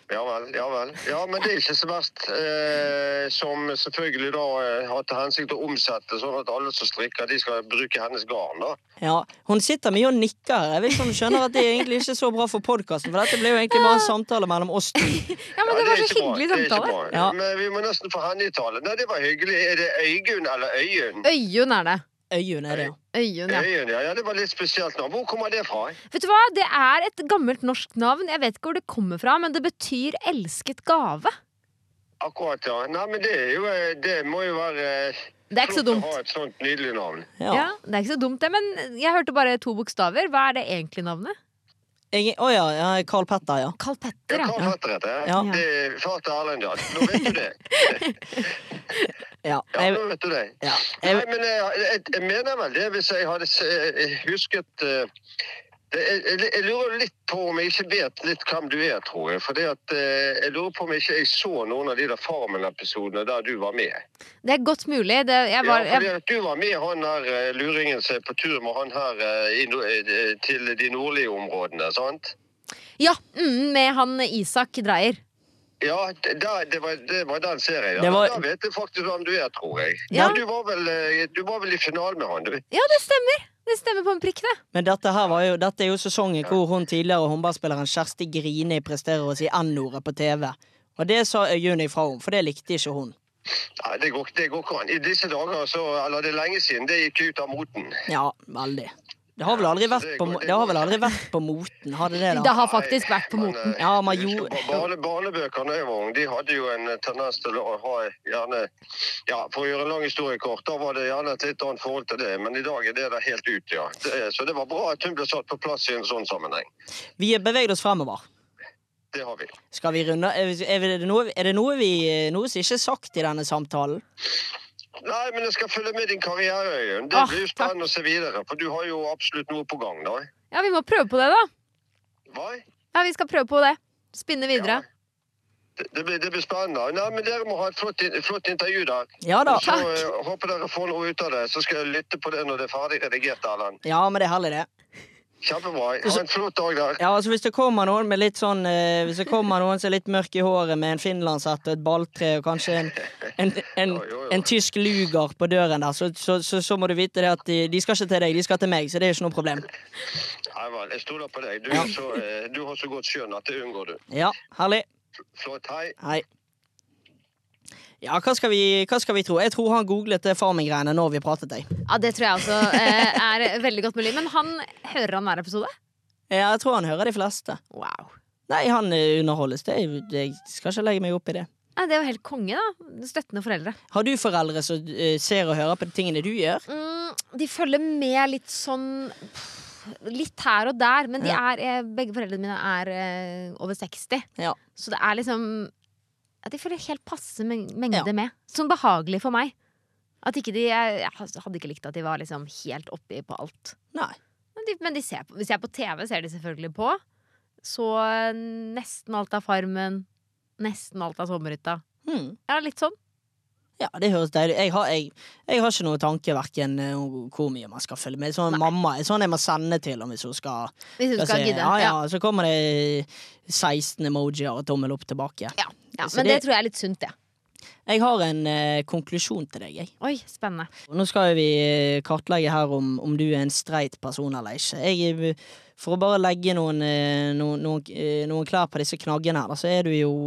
Ja vel, ja vel. Ja, men det er ikke så verst. Eh, som selvfølgelig da eh, har til hensikt å omsette, sånn at alle som strikker, de skal bruke hennes garn, da. Ja, hun sitter mye og nikker her. Jeg vet ikke om du skjønner at det er egentlig ikke så bra for podcasten, for dette ble jo egentlig bare en samtale mellom oss to. Ja, men det Ja, var er så ikke bra, hyggelig det er ikke samtale. bra. Ja. Men vi må nesten få henne i tale. Nei, det var hyggelig. Er det Øygunn eller Øyunn? Øyunn er det. Øyunn er det, ja. Øyunn, ja. Øyunn, ja. Ja, det var litt spesielt navn. Hvor kommer det fra? Vet du hva, det er et gammelt norsk navn. Jeg vet ikke hvor det kommer fra, men det betyr elsket gave. Akkurat, ja. Nei, men det er jo eh, Det må jo være eh, Det er ikke så flott dumt. å ha et sånt nydelig navn. Ja. Ja, det er ikke så dumt det, men jeg hørte bare to bokstaver. Hva er det egentlig navnet? Jeg, å ja, ja, Karl Petter, ja. Carl Ja, Petter, hva ja. heter dette? Ja. Det er far til Erlend, ja. Nå vet du det. Ja, Ja, jeg, nå vet du det. ja. Nei, Jeg, men jeg, jeg, jeg mener vel det, hvis jeg hadde s- husket eh, det, jeg, jeg, jeg lurer litt på om jeg ikke vet litt hvem du er, tror jeg. For det at, eh, jeg lurer på om jeg ikke jeg så noen av de der Farmen-episodene der du var med. Det er godt mulig. Det, jeg var, ja, fordi jeg, at du var med han der eh, luringen som er på tur med han her eh, i, no- eh, til de nordlige områdene, sant? ja mm, med han Isak Dreyer. Ja, det, der- det, var, det var den serien. Ja. Det var- Da vet jeg faktisk hvem du er, tror jeg. Ja. Ja, du, var vel, eh, du var vel i finalen med han, du. Ja, det stemmer. Det stemmer på en prikk, det. men dette her var jo, dette er jo sesongen hvor hun tidligere håndballspilleren Kjersti Grini presterer å si N-ordet på T V. Og det sa Øyunn ifra om, for det likte ikke hun. Nei, det går, det går ikke an. I disse dager, så, eller det er lenge siden, det gikk ut av moten. Ja, veldig. Det har vel aldri vært på, mo- det har vel aldri vært på moten, har det det Det da? har faktisk vært på Men, moten. eh, Ja, man husker gjorde- ba- Barne, barnebøkene jeg var ung, de hadde jo en eh, tendens til å ha gjerne Ja, for å gjøre en lang historie kort, da var det gjerne et litt annet forhold til det, men i dag er det der helt ut, ja. Det, så det var bra at hun ble satt på plass i en sånn sammenheng. Vi har beveget oss fremover. Det har vi. Skal vi runde? Er, er det noe, er det noe, vi, noe som ikke er sagt i denne samtalen? Nei, men jeg skal følge med din karriere, Øyunn. Det Åh, blir jo spennende å se videre, for du har jo absolutt noe på gang, da. Ja, vi må prøve på det, da. Hva? Ja, vi skal prøve på det. Spinne videre. Det, det, blir, det blir spennende. Nei, men dere må ha et flott, in- flott intervju der. Ja da. Så eh, håper dere får noe ut av det. Så skal jeg lytte på det når det er ferdig redigert, Erlend. Ja, men det er herlig, det. Kjempebra. Ha en flott dag der. Ja, altså Hvis det kommer noen med litt sånn eh, Hvis det kommer noen som er litt mørk i håret, med en finlandshette og et balltre og kanskje en, en, en, Jo, jo, jo. en tysk luger på døren der, så, så, så, så må du vite det at de, de skal ikke til deg, de skal til meg. Så det er ikke noe problem. Nei vel, jeg stoler på deg. Du, Ja. er så, eh, du har så godt skjønn at det unngår du. Ja, herlig. Flott, hei. Hei. Ja, hva skal, vi, hva skal vi tro? Jeg tror han googlet det farming-greiene når vi pratet deg. Ja, det tror jeg også eh, er veldig godt mulig. Men han hører han hver episode? Ja, jeg tror han hører de fleste. Wow. Nei, han eh, underholdes. Det, er- jeg skal ikke legge meg opp i det. Nei, det er jo helt konge, da. Støttende foreldre. Har du foreldre som eh, ser og hører på de tingene du gjør? Mm, de følger med litt sånn pff, litt her og der. Men de Ja. er, eh, begge foreldrene mine er eh, over seksti. Ja. Så det er liksom at de følger helt passe meng- mengde Ja. med. Sånn behagelig for meg. At ikke de, jeg, jeg hadde ikke likt at de var liksom helt oppi på alt. Nei. Men, de, men de ser på, hvis jeg er på T V, ser de selvfølgelig på. Så eh, nesten alt av Farmen. Nesten alt av Sommerhytta. Hmm. Ja, litt sånn. Ja, det høres deilig. Jeg har, jeg, jeg har ikke noe tanke hverken eh, om hvor mye man skal følge med. Sånn mamma er sånn jeg må sende til om hvis hun skal, Hvis du skal skal se. gidde. Ja, ja, Ja. så kommer det seksten emojier og tommel opp tilbake. Ja. Ja, Så men det, det- tror jeg er litt sunt, det. Jeg har en eh, konklusjon til deg, jeg. Oi, spennende. Og nå skal vi eh, kartlegge her om, om du er en streit person eller ikke. Jeg, eh, for å bare legge noen, eh, noen, noen, eh, noen klær på disse knaggene her, da, så er du jo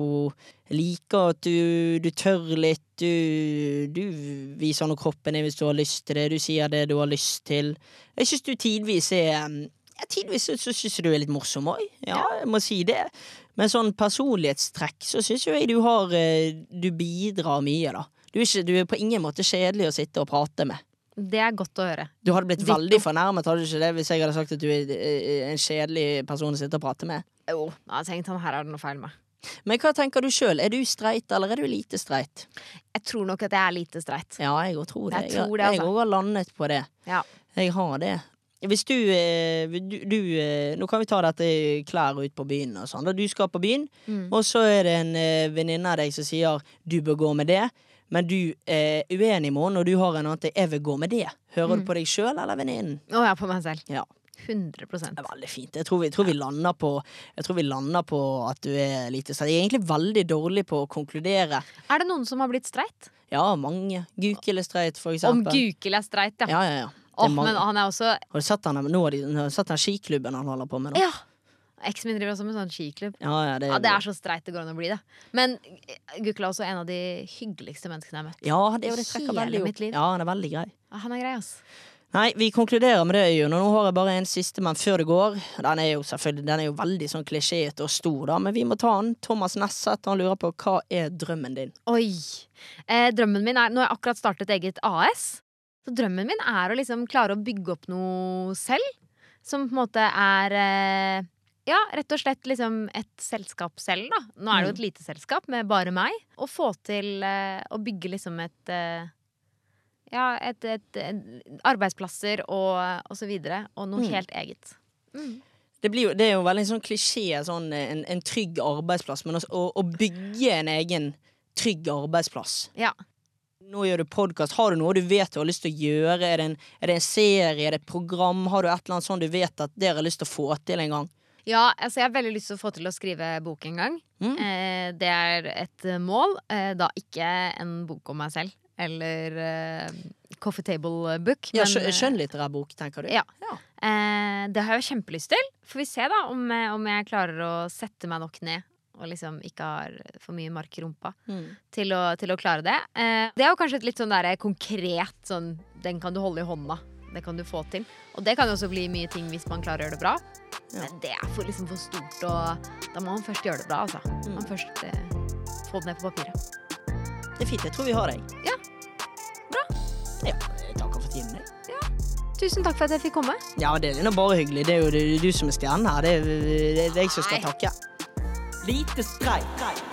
liker at du, du tør litt, du, du viser når kroppen er hvis du har lyst til det, du sier det du har lyst til. Jeg synes du tidvis er ja, tidvis så, så synes jeg du er litt morsom òg. Ja, jeg må si det. Men sånn personlighetstrekk så synes jo jeg du har eh, Du bidrar mye, da. Du er, ikke, du er på ingen måte kjedelig å sitte og prate med. Det er godt å høre. Du hadde blitt Ditto. veldig fornærmet hadde du ikke det hvis jeg hadde sagt at du er eh, en kjedelig person å sitte og prate med. Jo, jeg har tenkt sånn, her er det noe feil med. Men hva tenker du sjøl? Er du streit, eller er du lite streit? Jeg tror nok at jeg er lite streit. Ja, jeg òg tror det. Jeg tror det, altså. Jeg òg har landet på det. Ja. Jeg har det. Hvis du, eh, du, du eh, Nå kan vi ta dette klær ut på byen og sånn. Da du skal på byen, Mm. og så er det en eh, venninne av deg som sier du bør gå med det, men du er uenig med henne, og du har en annen til jeg vil gå med det. Hører Mm. du på deg sjøl eller venninnen? Å ja, på meg selv. Ja. hundre prosent. Det er veldig fint. Jeg tror vi, jeg tror vi lander på Jeg tror vi lander på at du er lite streit. Jeg er egentlig veldig dårlig på å konkludere. Er det noen som har blitt streit? Ja, mange. Gukele streit, for Om eksempel. Gukel er streit, ja. Ja, ja, ja. Det Åh, er mange. men han er også Har du sett den, nå har de, nå har du sett den skiklubben han holder på med da? Ja! Eksen min driver også med sånn skiklubb. Ja, ja, det, Ja, det er så streit det går an å bli det. Men Gukel er også en av de hyggeligste menneskene jeg har møtt. ja, det, er jo det trekker Hele veldig mitt opp. liv. Ja, han er veldig grei. Ja, han er grei, ass. Nei, vi konkluderer med det, Øyunn, og nå har jeg bare en siste, men før det går. Den er jo selvfølgelig, den er jo veldig sånn klisjéete og stor da, men vi må ta den. Thomas Nesset, han lurer på, hva er drømmen din? Oi. Eh, drømmen min er, nå har jeg akkurat startet eget A S, så drømmen min er å liksom klare å bygge opp noe selv, som på en måte er, eh, ja, rett og slett liksom et selskap selv da. Nå er det jo et lite selskap med bare meg, og få til eh, å bygge liksom et, eh, ja, et, et, et arbeidsplasser og, og så videre, og noe Mm. helt eget. Mm. Det, blir jo, det er jo veldig en sånn klisjé, sånn, en, en trygg arbeidsplass, men også, å, å bygge en egen trygg arbeidsplass. Ja. Nå gjør du podcast. Har du noe du vet du har lyst til å gjøre? Er det en, er det en serie? Er det et program? Har du et eller annet sånn du vet at dere har lyst til å få til en gang? Ja, altså jeg har veldig lyst til å få til å skrive bok en gang. Mm. Eh, det er et mål. Eh, da ikke en bok om meg selv. Eller eh, coffee table book. Ja, men, skjø- Skjønnlitterær bok, tenker du? Ja. Ja. Eh, det har jeg kjempelyst til. Får vi se da om, eh, om jeg klarer å sette meg nok ned og liksom ikke har for mye mark i rumpa Mm. til å, til å klare det. Eh, det er jo kanskje et litt sånn der konkret sånn, den kan du holde i hånda. Det kan du få til. Og det kan jo også bli mye ting hvis man klarer å gjøre det bra. Ja. Men det er for, liksom for stort, og da må man først gjøre det bra, altså. Mm. Man først eh, få det ned på papiret. Det er fint, jeg tror vi har deg. Ja. Bra. Ja, jeg takker for tiden. Jeg. Tusen takk for at jeg fikk komme. Ja, det er nå bare hyggelig. Det er jo det, du som er stjernen her. Det er, det er jeg som skal Nei. takke. Lite streit.